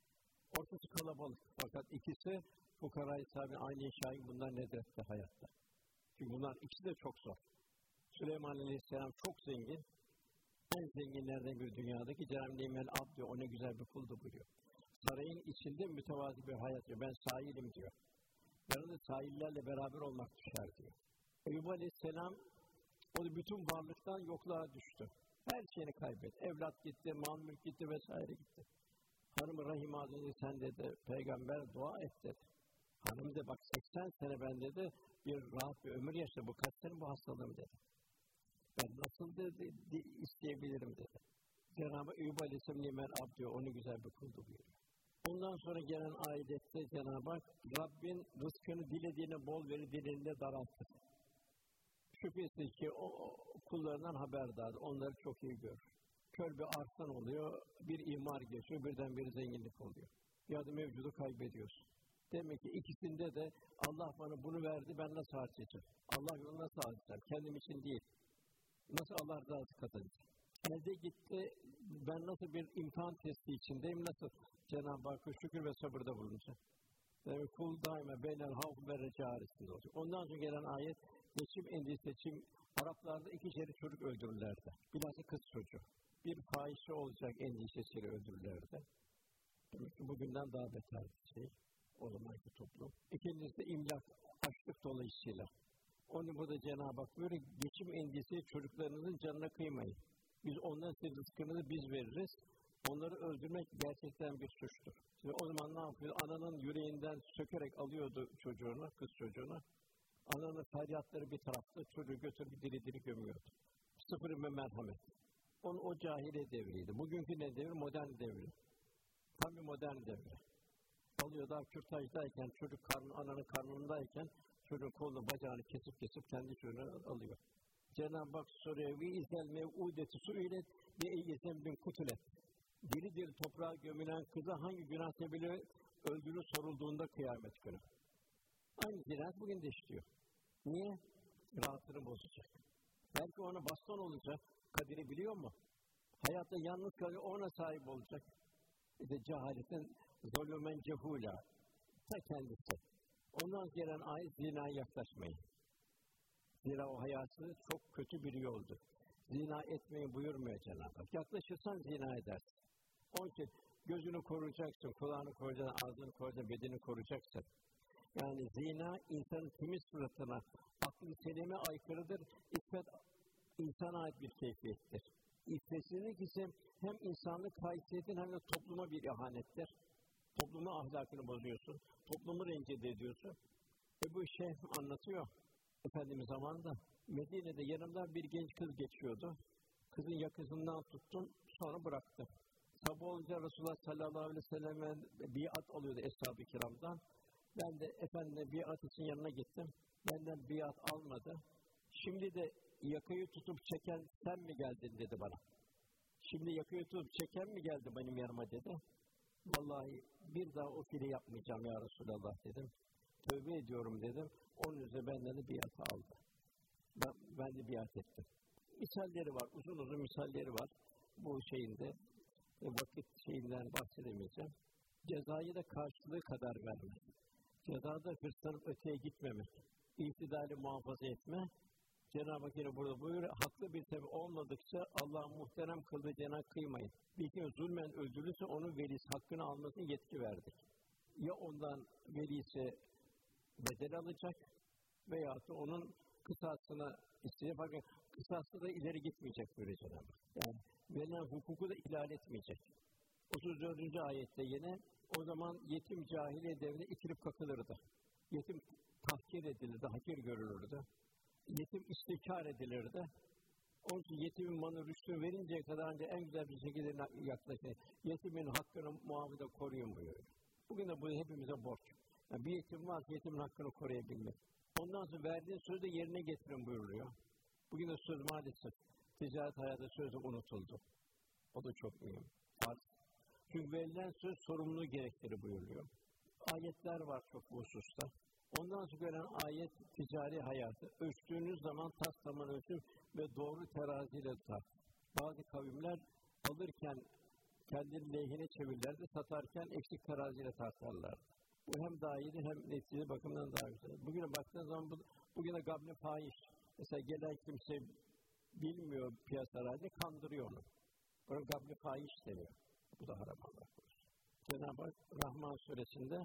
Ortası kalabalık fakat ikisi fukarâ-i sabirin, aynı şahin bunlar nedretti hayatta. Çünkü bunlar ikisi de çok zor. Süleyman Aleyhisselam çok zengin. En zenginlerden bir dünyadaki Cenab-ı Nimel Abd diyor, o ne güzel bir kuldu buyuruyor. Sarayın içinde mütevazi bir hayat diyor. Ben sahilim diyor. Yanında sahillerle beraber olmak düşer diyor. Eyyub Aleyhisselam o da bütün varlıktan yokluğa düştü. Her şeyini kaybetti. Evlat gitti, mal mülk gitti vesaire gitti. Hanım-ı Rahim Hazretleri sen dedi, peygamber dua et dedi. Hanım de bak 80 sene ben dedi bir rahat bir ömür yaşadı. Bu kaç sene bu hastalığım dedi. Ben nasıl dedi isteyebilirim dedi. Cenab-ı Eyyub Aleyhisselam nimel abd diyor, onu güzel bir kuldu buyuruyor. Ondan sonra gelen ayette Cenab-ı Hak, Rabbin rızkını dilediğine bol verir, dilediğine daraltır. Şüphesiz ki o kullarından haberdar, onları çok iyi görür. Kör bir arslan oluyor, bir imar geçiyor, birden bir zenginlik oluyor. Ya da mevcudu kaybediyorsun. Demek ki ikisinde de Allah bana bunu verdi, ben nasıl harcayacağım? Allah yolunu nasıl harcayacağım? Kendim için değil. Nasıl Allah rızası kazanacağım? Elde gitti, ben nasıl bir imtihan testi içindeyim, nasıl Cenab-ı Hakk'a şükür ve sabırda bulunacağım? Yani kul daima beynel havf ve reca arasında olacak. Ondan sonra gelen ayet, geçim endişesi, Araplarda 2 kere çocuk öldürürlerdi. Bilhassa kız çocuğu. Bir fahişe olacak endişesiyle öldürürlerdi. Demek ki bugünden daha beter bir şey. O zamanki toplum. İkincisi imlak, açlık dolayısıyla. Onu burada Cenab-ı Hak böyle geçim endişesi çocuklarınızın canına kıymayın. Biz onların size rızkını biz veririz. Onları öldürmek gerçekten bir suçtur. Şimdi o zaman ne yapıyor? Ananın yüreğinden sökerek alıyordu çocuğunu, kız çocuğunu. Ananın feryatları bir tarafta, çocuğu götürüp diri diri gömüyordu. Sıfır merhamet. O cahiliye devriydi. Bugünkü ne devri? Modern devri. Tam bir modern devri. Alıyor daha kürtajdayken, çocuk ananın karnındayken, çocuğun kolunu, bacağını kesip kendi çocuğunu alıyor. Cenab-ı Hak soruyor, وَاِذَا الْمَوْعُودَةُ سُئِلَتْ بِاَيِّ bir kutulet. Diri toprağa gömülen kıza hangi günah sebebiyle öldürülür sorulduğunda kıyamet günü. Aynı cinayet bugün de işliyor. Niye? Rahatını bozacak. Belki ona baston olacak, kaderi biliyor mu? Hayatta yalnız kalıyor, ona sahip olacak. İşte cehaletin zulümen cehûlâ. Ta kendisi. Ondan gelen ayet zinaya yaklaşmayın. Zira o hayatı çok kötü bir yoldur. Zina etmeyi buyurmuyor Cenab-ı Hak. Yaklaşırsan zina edersin. Onun için gözünü koruyacaksın, kulağını koruyacaksın, ağzını koruyacaksın, bedenini koruyacaksın. Yani zina insanın temiz suratına, aklı selime aykırıdır. İffet insana ait bir keyfiyettir. İffetsizlik ise hem insanlık haysiyetin hem de topluma bir ihanettir. Toplumun ahlakını bozuyorsun, toplumu rencide ediyorsun. Bu Şeyh anlatıyor. Efendimiz zamanında Medine'de yanımdan bir genç kız geçiyordu. Kızın yakasından tuttum, sonra bıraktım. Sabah olunca Resulullah sallallahu aleyhi ve sellem'e biat alıyordu Eshab-ı Kiram'dan. Ben de Efendim'e biat için yanına gittim. Benden biat almadı. Şimdi de yakayı tutup çeken sen mi geldin dedi bana. Şimdi yakayı tutup çeken mi geldi benim yanıma dedi. Vallahi bir daha o fiili yapmayacağım ya Resulallah dedim. Tövbe ediyorum dedim. Onun üzerine benden de biatı aldı. Ben de biat ettim. Misalleri var, uzun uzun misalleri var. Bu şeyinde, vakit şeyinden bahsedemeyeceğim. Cezayı da karşılığı kadar vermek. Cezada hırslanıp öteye gitmemek. İhtidali muhafaza etme. Cenab-ı Hak yine burada buyuruyor, haklı bir sebep olmadıkça Allah'ın muhterem kıldığı cenah kıymayın. Bir kim zulmen öldürülürse onun velisi hakkını almasını yetki verdik. Ya ondan velisi bedel alacak veyahut da onun kısasını isteyecek. Fakat kısasla da ileri gitmeyecek böyle Cenab-ı Hak. Yani verilen hukuku da ihlal etmeyecek. 34. ayette yine o zaman yetim cahiliye devrinde itilip kakılırdı. Yetim tahkir edilirdi, hakir görülürdü. Yetim istikrar edilirdi. Onun için yetimin malı rüştünü verinceye kadar önce en güzel bir şekilde yaklaşın. Yetimin hakkını muhafaza koruyun buyuruyor. Bugün de bu hepimize borç. Yani bir yetim varsa yetimin hakkını koruyabilmek. Ondan sonra verdiğin sözü de yerine getirin buyuruyor. Bugün de söz maalesef ticaret hayatı sözü unutuldu. O da çok mühim. Çünkü verilen söz sorumluluğu gerektirir buyuruyor. Ayetler var çok bu hususta. Ondan sonra gelen ayet ticari hayatı. Ölçtüğünüz zaman tas tamam ölçün ve doğru teraziyle tutar. Bazı kavimler alırken kendini lehine çevirirlerdi, satarken eksik teraziyle tartarlar. Bu hem daha iyidir hem netice bakımından daha güzel. Bugüne baktığınız zaman bugüne gabne fahiş. Mesela gelen kimse bilmiyor piyasalarda, kandırıyor onu. Ona gabne fahiş deniyor. Bu da haram Allah korusun. Cenab-ı Hak Rahman suresinde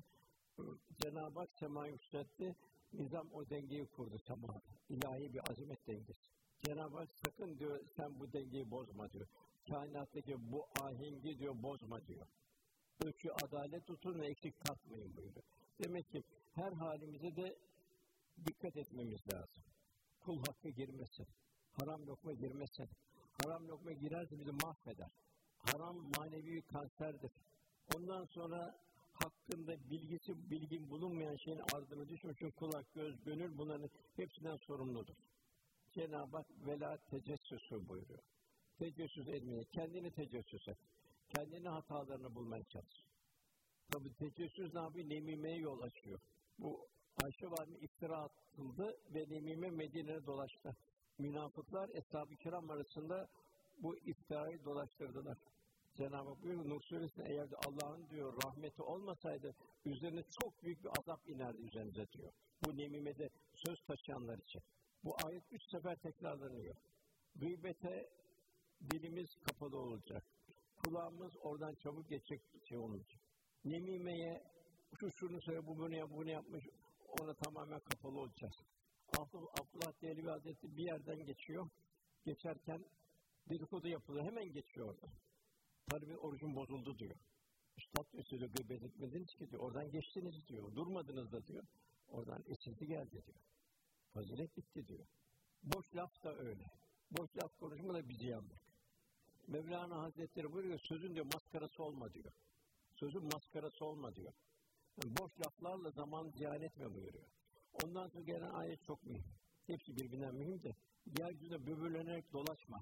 Cenab-ı Hak semayı yükseltti, nizam o dengeyi kurdu semada. İlahi bir azamet dengesi. Cenab-ı Hak sakın diyor sen bu dengeyi bozma diyor. Kainattaki bu ahengi diyor bozma diyor. Ölçü adalet tutun ve eksik katmayın buyuruyor. Demek ki her halimize de dikkat etmemiz lazım. Kul hakkı girmesin. Haram lokma girmesin. Haram lokma girerse bizi mahveder. Haram manevi kanserdir. Ondan sonra hakkında bilgin bulunmayan şeyin ardına düşmüş kulak, göz, gönül bunların hepsinden sorumludur. Cenab-ı Hak vela tecessüsü buyuruyor. Tecessüs etmeye, kendini tecessüs et. Kendine hatalarını bulmaya çalış. Tabi tecessüs ne yapıyor? Nemimeye yol açıyor. Bu Ayşe Valide iftira atıldı ve nemime Medine'ye dolaştı. Münafıklar Eshab-ı Kiram arasında bu iftirayı dolaştırdılar. Cenab-ı Hak buyuruyor Nur Suresi'nde eğer Allah'ın diyor rahmeti olmasaydı üzerine çok büyük bir azap inerdi üzerinize diyor. Bu nemimede söz taşıyanlar için. Bu ayet 3 sefer tekrarlanıyor. Gıybete dilimiz kapalı olacak. Kulağımız oradan çabuk geçecek şey olacak. Nemimeye şunu söyle bunu yapmış ona tamamen kapalı olacağız. Abdullah Dehlevi Hazretleri bir yerden geçiyor. Geçerken dedikodu yapılıyor. Hemen geçiyor orada. Tabii orucun bozuldu diyor. Üstad diyor gıybet etmediniz ki diyor. Oradan geçtiniz diyor. Durmadınız da diyor. Oradan esinti geldi diyor. Fazilet bitti diyor. Boş laf da öyle. Boş laf konuşma da bizi yandık. Mevlana Hazretleri buyuruyor sözün diyor maskarası olma diyor. Sözün maskarası olma diyor. Yani boş laflarla zaman ziyan etme buyuruyor. Ondan sonra gelen ayet çok mühim. Hepsi birbirinden mühim de yeryüzünde böbürlenerek dolaşma.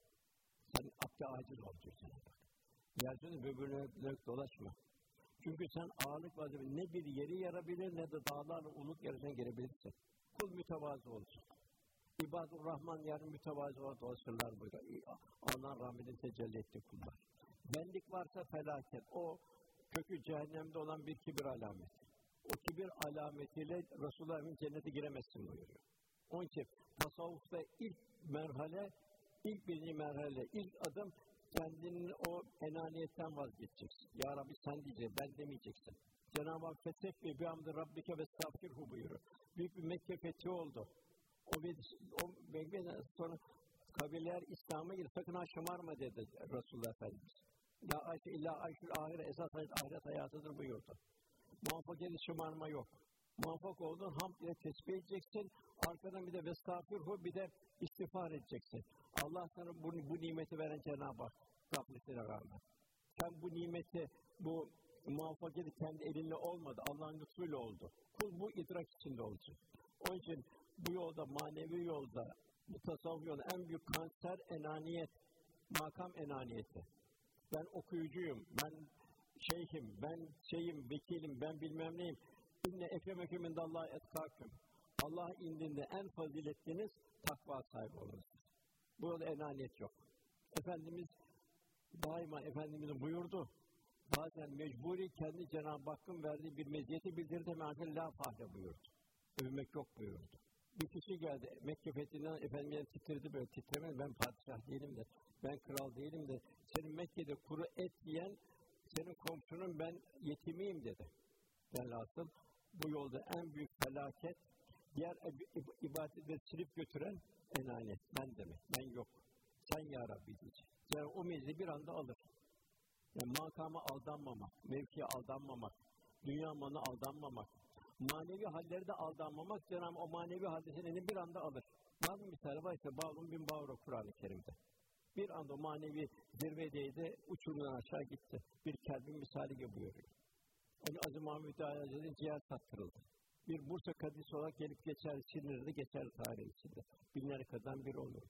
Sen abde aciz ol diyor sana bak. Yeryüzünde böbürlenerek dolaşma. Çünkü sen ağırlık vazifesi ne bir yeri yarabilir ne de dağlarla uluk yarısına girebilirsin. Kul mütevazı olsun. İbadur Rahman yarın mütevazı olarak dolaşırlar burada. Allah'ın rahmetini tecelli etti kullar. Benlik varsa felaket. O kökü cehennemde olan bir kibir alameti. O kibir alametiyle Resulullah'ın cennete giremezsin buyuruyor. Onun için tasavvufta ilk merhale, birinci merhale, ilk adım kendinin o enaniyetten vazgeçeceksin. Ya Rabbi sen diyeceksin, ben demeyeceksin. Cenab-ı Hak fethekbi bihamdi rabbike ve estağfirhu buyuruyor. Büyük bir Mekke fethi oldu. O Mekke'den sonra kabileler İslam'a girdi. Sakın ha şımarma dedi Resulullah Efendimiz. La ayşe illa ayşül ahire, esas ahiret hayatıdır buyurdu. Muvaffakiyeti şımarma yok. Muvaffak oldun, hamd ile tesbih edeceksin. Arkadan bir de vestağfirhu, bir de istiğfar edeceksin. Allah sana bu nimeti veren Cenab-ı Hak gafletine rağmen. Sen bu nimeti, bu muvaffakiyeti kendi elinle olmadı, Allah'ın lütfuyla oldu. Kul bu idrak içinde olacak. Onun için bu yolda, manevi yolda, bu tasavvuf yolda en büyük kanser enaniyet, makam enaniyeti. Ben okuyucuyum, ben şeyhim, ben vekilim, ben bilmem neyim. İnne ekremeküm indallahi etkâküm. Allah indinde en faziletliniz takva sahibi olunuz. Bu yolda enaniyet yok. Efendimiz daima Efendimiz'in buyurdu. Bazen mecburi kendi Cenab-ı Hakk'ın verdiği bir meziyeti bildirdi. Meâfel la fahre buyurdu. Övmek yok buyurdu. Bir kişi geldi. Mekke fethinden Efendimiz'e titredi böyle titremedi. Ben padişah değilim de, ben kral değilim de, senin Mekke'de kuru et yiyen senin komşunun ben yetimiyim dedi. Velhasıl bu yolda en büyük felaket, diğer ibadetleri silip götüren enaniyet. Ben demek, ben yok. Sen ya Rabbi diyecek. Yani o meclisi bir anda alır. Yani makama aldanmamak, mevkiye aldanmamak, dünya malına aldanmamak, manevi halleri de aldanmamak, Cenab-ı o manevi hadisini bir anda alır. Var mı misali? Var işte Bağlum bin Bağro Kur'an-ı Kerim'de. Bir anda manevi zirvedeydi, uçurumdan aşağı gitti. Bir kelbin misali gibi buyuruyor. Onun Aziz Mahmud Hazretleri'nin ciğer sattırıldı. Bir Bursa kadisi olarak gelip geçer, silinirdi, geçer tarih içinde. Binlerce biri olurdu.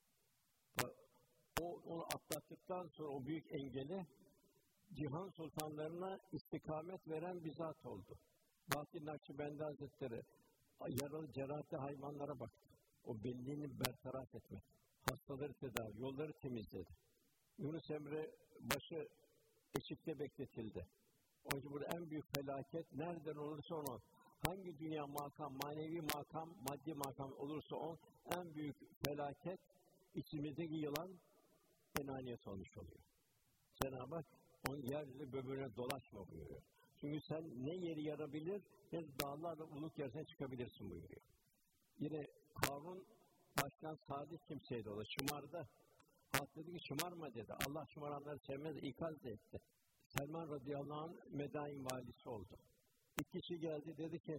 Onu atlattıktan sonra o büyük engeli, cihan sultanlarına istikamet veren bir zat oldu. Bahattin Nakşibendi Hazretleri yaralı cerahatli hayvanlara baktı. O belliğini bertaraf etmek, hastaları tedavi, yolları temizledi. Yunus Emre başı eşikte bekletildi. Onun için burada en büyük felaket nereden olursa onun, hangi dünya makam, manevi makam, maddi makam olursa onun en büyük felaket içimizdeki yılan enaniyet olmuş oluyor. Cenab-ı Hak onun yeryüzü böbürüne dolaşma buyuruyor. Çünkü sen ne yeri yarabilir, ne dağlarla uluk yerisine çıkabilirsin buyuruyor. Yine Karun baştan sadık kimseydi o da, şımardı. Halk dedi ki şımarma dedi. Allah şımaranları sevmez, ikaz da etti. Selman radıyallahu anh Medain valisi oldu. Bir kişi geldi dedi ki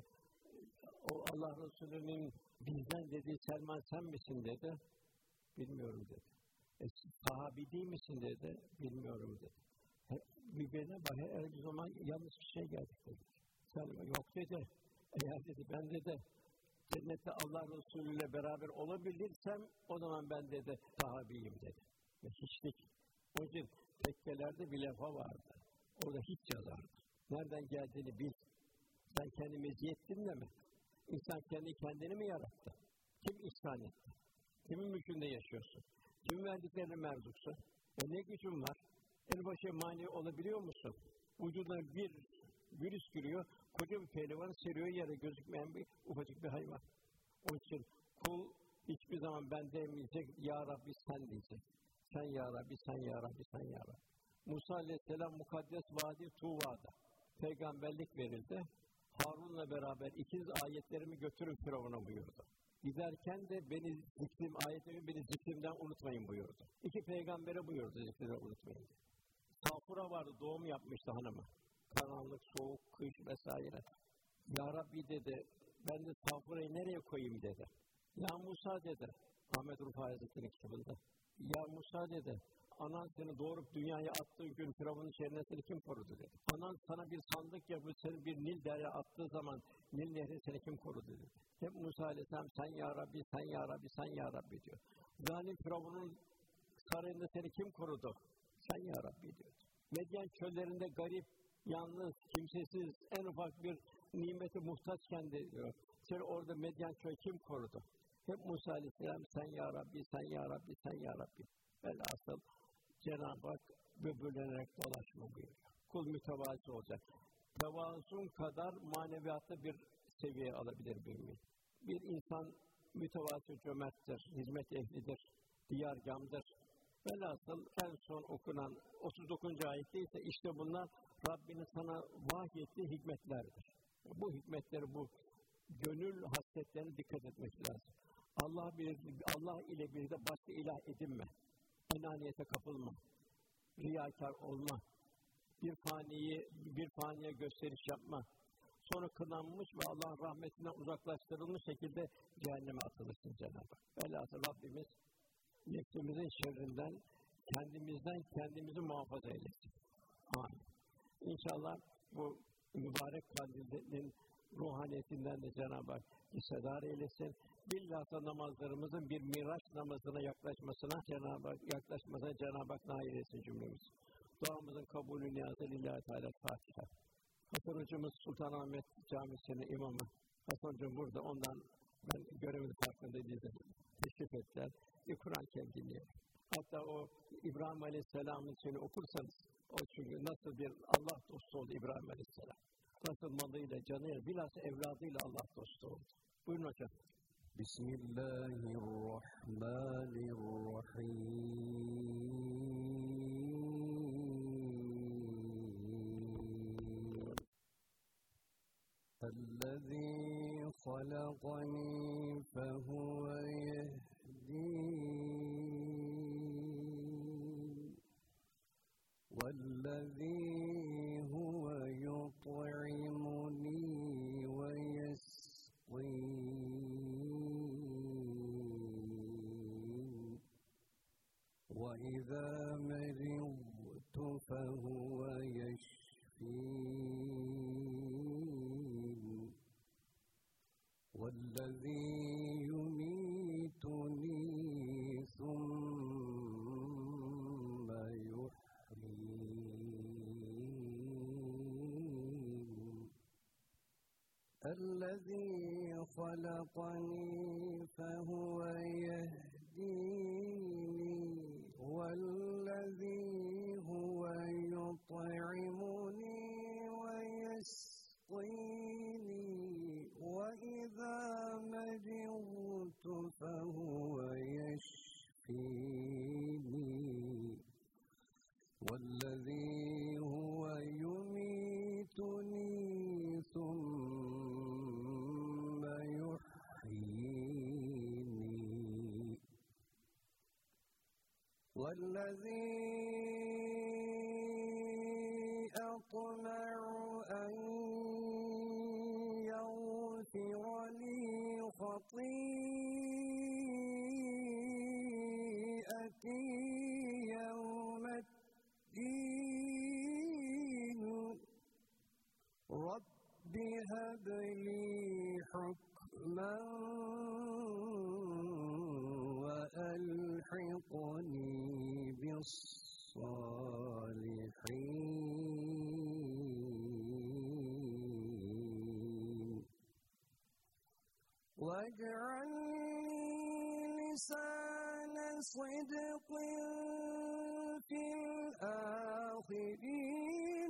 o Allah Resulü'nün bizden dediği Selman sen misin dedi. Bilmiyorum dedi. Sahabi değil misin dedi. Bilmiyorum dedi. Birbirine bak her zaman yanlış bir şey geldik dedi. Selman yok dedi. Eğer dedi ben dedi cennette Allah Resulü ile beraber olabilirsem o zaman ben dedi sahabiyim dedi. Ve hiçlik. Onun için tekkelerde bir lafa vardı. Orada hiç yazardı. Nereden geldiğini bil. Sen kendi meziyettinle mi? İnsan kendini mi yarattı? Kim ihsan etti? Kimin mülkünde yaşıyorsun? Kim verdiklerine merzuksun? Ne gücün var? En başı mani olabiliyor musun? Vücuduna bir virüs giriyor, koca bir pehlivanı seriyor yere gözükmeyen bir ufacık bir hayvan. Onun için kul hiçbir zaman ben demeyecek, Ya Rabbi sen diyecek. Sen Ya Rabbi, sen Ya Rabbi, sen Ya Rabbi. Musa Aleyhisselam mukaddes vadi Tuva'da peygamberlik verildi. Harun'la beraber ikiz ayetlerimi götürün Firavun'a buyurdu. Giderken de beni zikrimden unutmayın buyurdu. İki peygambere buyurdu zikrimden unutmayın. Safura vardı, doğum yapmıştı hanımı. Karanlık, soğuk, kış vesaire. Ya Rabbi dedi, ben de Safura'yı nereye koyayım dedi. Ya Musa dedi, Ahmet Rufai Hazretleri'nin kitabında. Ya Musa dedi, anan seni doğurup dünyaya attığı gün Firavun'un şerrinden seni kim korudu dedi. Anan sana bir sandık yapıp seni bir Nil derya attığı zaman Nil nehri seni kim korudu dedi. Hep Musa Aleyhisselam sen Ya Rabbi, sen Ya Rabbi, sen Ya Rabbi diyor. Zalim Firavun'un sarayında seni kim korudu? Sen Ya Rabbi diyor. Medyen çöllerinde garip, yalnız, kimsesiz, en ufak bir nimete muhtaçken de diyor. Seni orada Medyen çölü kim korudu? Hep Musa Aleyhisselam sen Ya Rabbi, sen Ya Rabbi, sen Ya Rabbi. Velhasıl Cenab-ı Hak böbürlenerek dolaşma buyuruyor. Kul mütevazi olacak. tevazun kadar maneviyatta bir seviye alabilir mümin. Bir insan mütevazı cömerttir, hizmet ehlidir, diyargâmdır. Velhasıl en son okunan 39. ayette ise işte bunlar Rabbinin sana vahyettiği hikmetlerdir. Bu hikmetleri, bu gönül hasletlerine dikkat etmek lazım. Allah ile bir de başka ilah edinme. Enaniyete kapılma. Riyakâr olma. Bir faniye gösteriş yapma. Sonra kınanmış ve Allah'ın rahmetinden uzaklaştırılmış şekilde cehenneme atılırsın Cenab-ı Hak. Velhasıl Rabbimiz nefsimizin şerrinden, kendimizi muhafaza eylesin. Amin. İnşallah bu mübarek kandilin ruhaniyetinden de Cenab-ı Hak hissedar eylesin. Bilhassa namazlarımızın bir miraç namazına yaklaşmasına Cenab-ı Hak nail etsin cümlemiz. Duamızın kabulü niyazı lillahi teala Fatiha. Hasan hocamız Sultanahmet Camisi'nin imamı. Hasan hocam burada, ondan ben görevimin farkındaydım. Teşrif ettiler. Bir Kur'an-ı Kerim dinleyelim. Hatta o İbrahim Aleyhisselam'ın seni okursanız, o çünkü nasıl bir Allah dostu oldu İbrahim Aleyhisselam. Nasıl malıyla, canıyla, bilhassa evladıyla Allah dostu oldu. Buyurun hocam. Bismillahirrahmanirrahim. الذي خلقني فهو يهدين والذي هو يطعمني ويسقين وإذا مرضت فهو يشفين والذي يميتني ثم يحيين الذي خلقني فهو يهديني والذي هو يطعمني ويسقيني وإذا مرضت فهو يشفيني والذي هو يميتني ثم يحييني والذي أطمع أن يغفر لي خطيئتي يوم الدين رب هب لي حكما وألحقني بالصالحين واجعل لي لسان صدق في الآخرين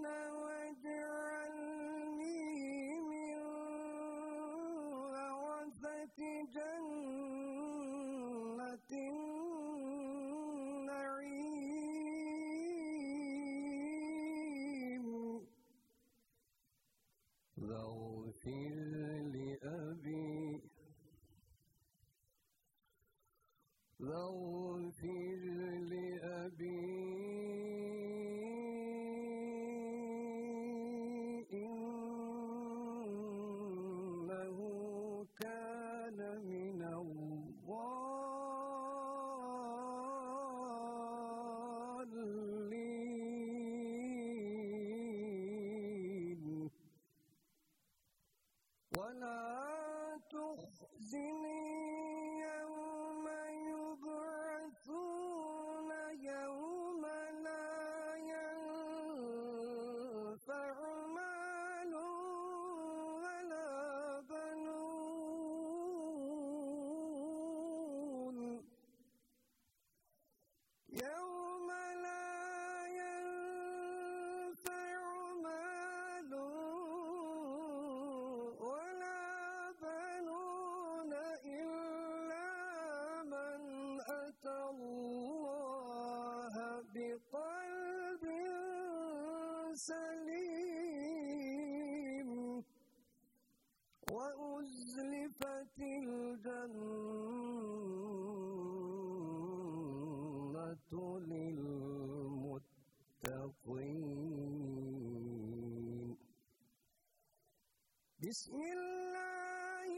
واجعلني من ورثة جنة النعيم واغفر لأبي إنه كان من الضالين ولا تخزني يوم يبعثون يوم لا ينفع مال ولا بنون يوم لا ينفع مال سليم وأزلفت الجنة للمتقين بسم الله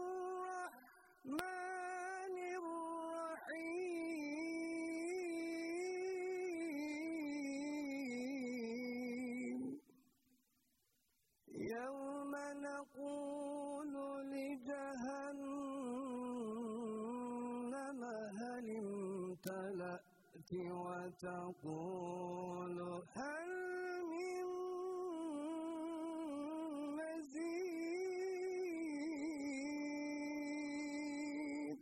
الرحمن الرحيم يوم نقول لجهنم هل امتلأت وتقول هل من مزيد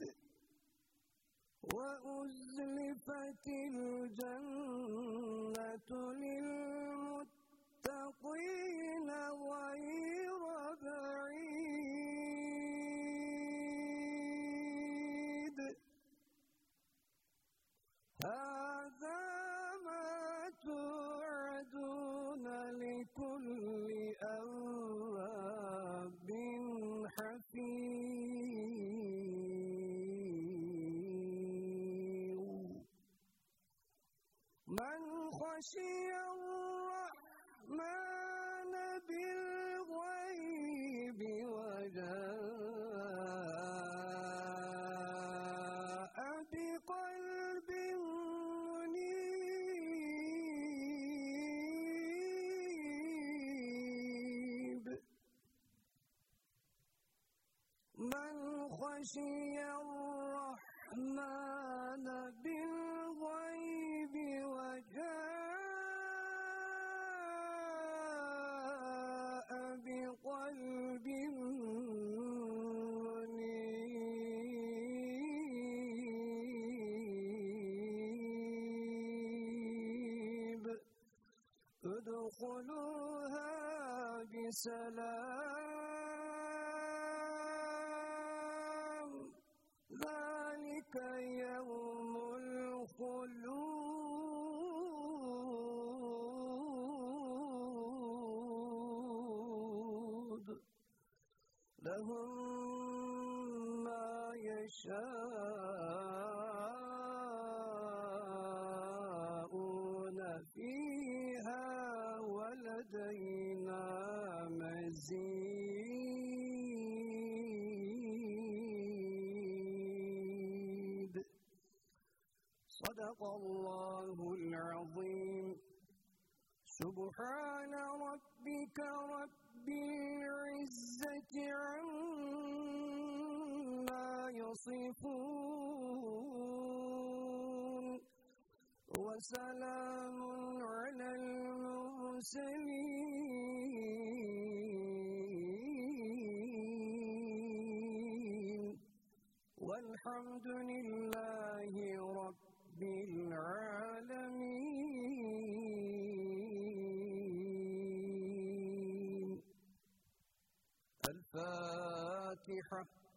وأزلفت الجنة للمتقين غير بعيد هذا ما توعدون لكل أواب حفيظ من خشي الرحمن بالغيب وجاء بقلب منيب من خشي الرحمن بالغيب وجاء بقلب منيب ادخلوها بسلام ذلك يوم الخلود لهم ما يشاءون فيها ولدينا مزيد صدق الله العظيم سبحان ربك رب العزة عما يصفون وسلام على المرسلين والحمد لله رب العالمين الفاتحة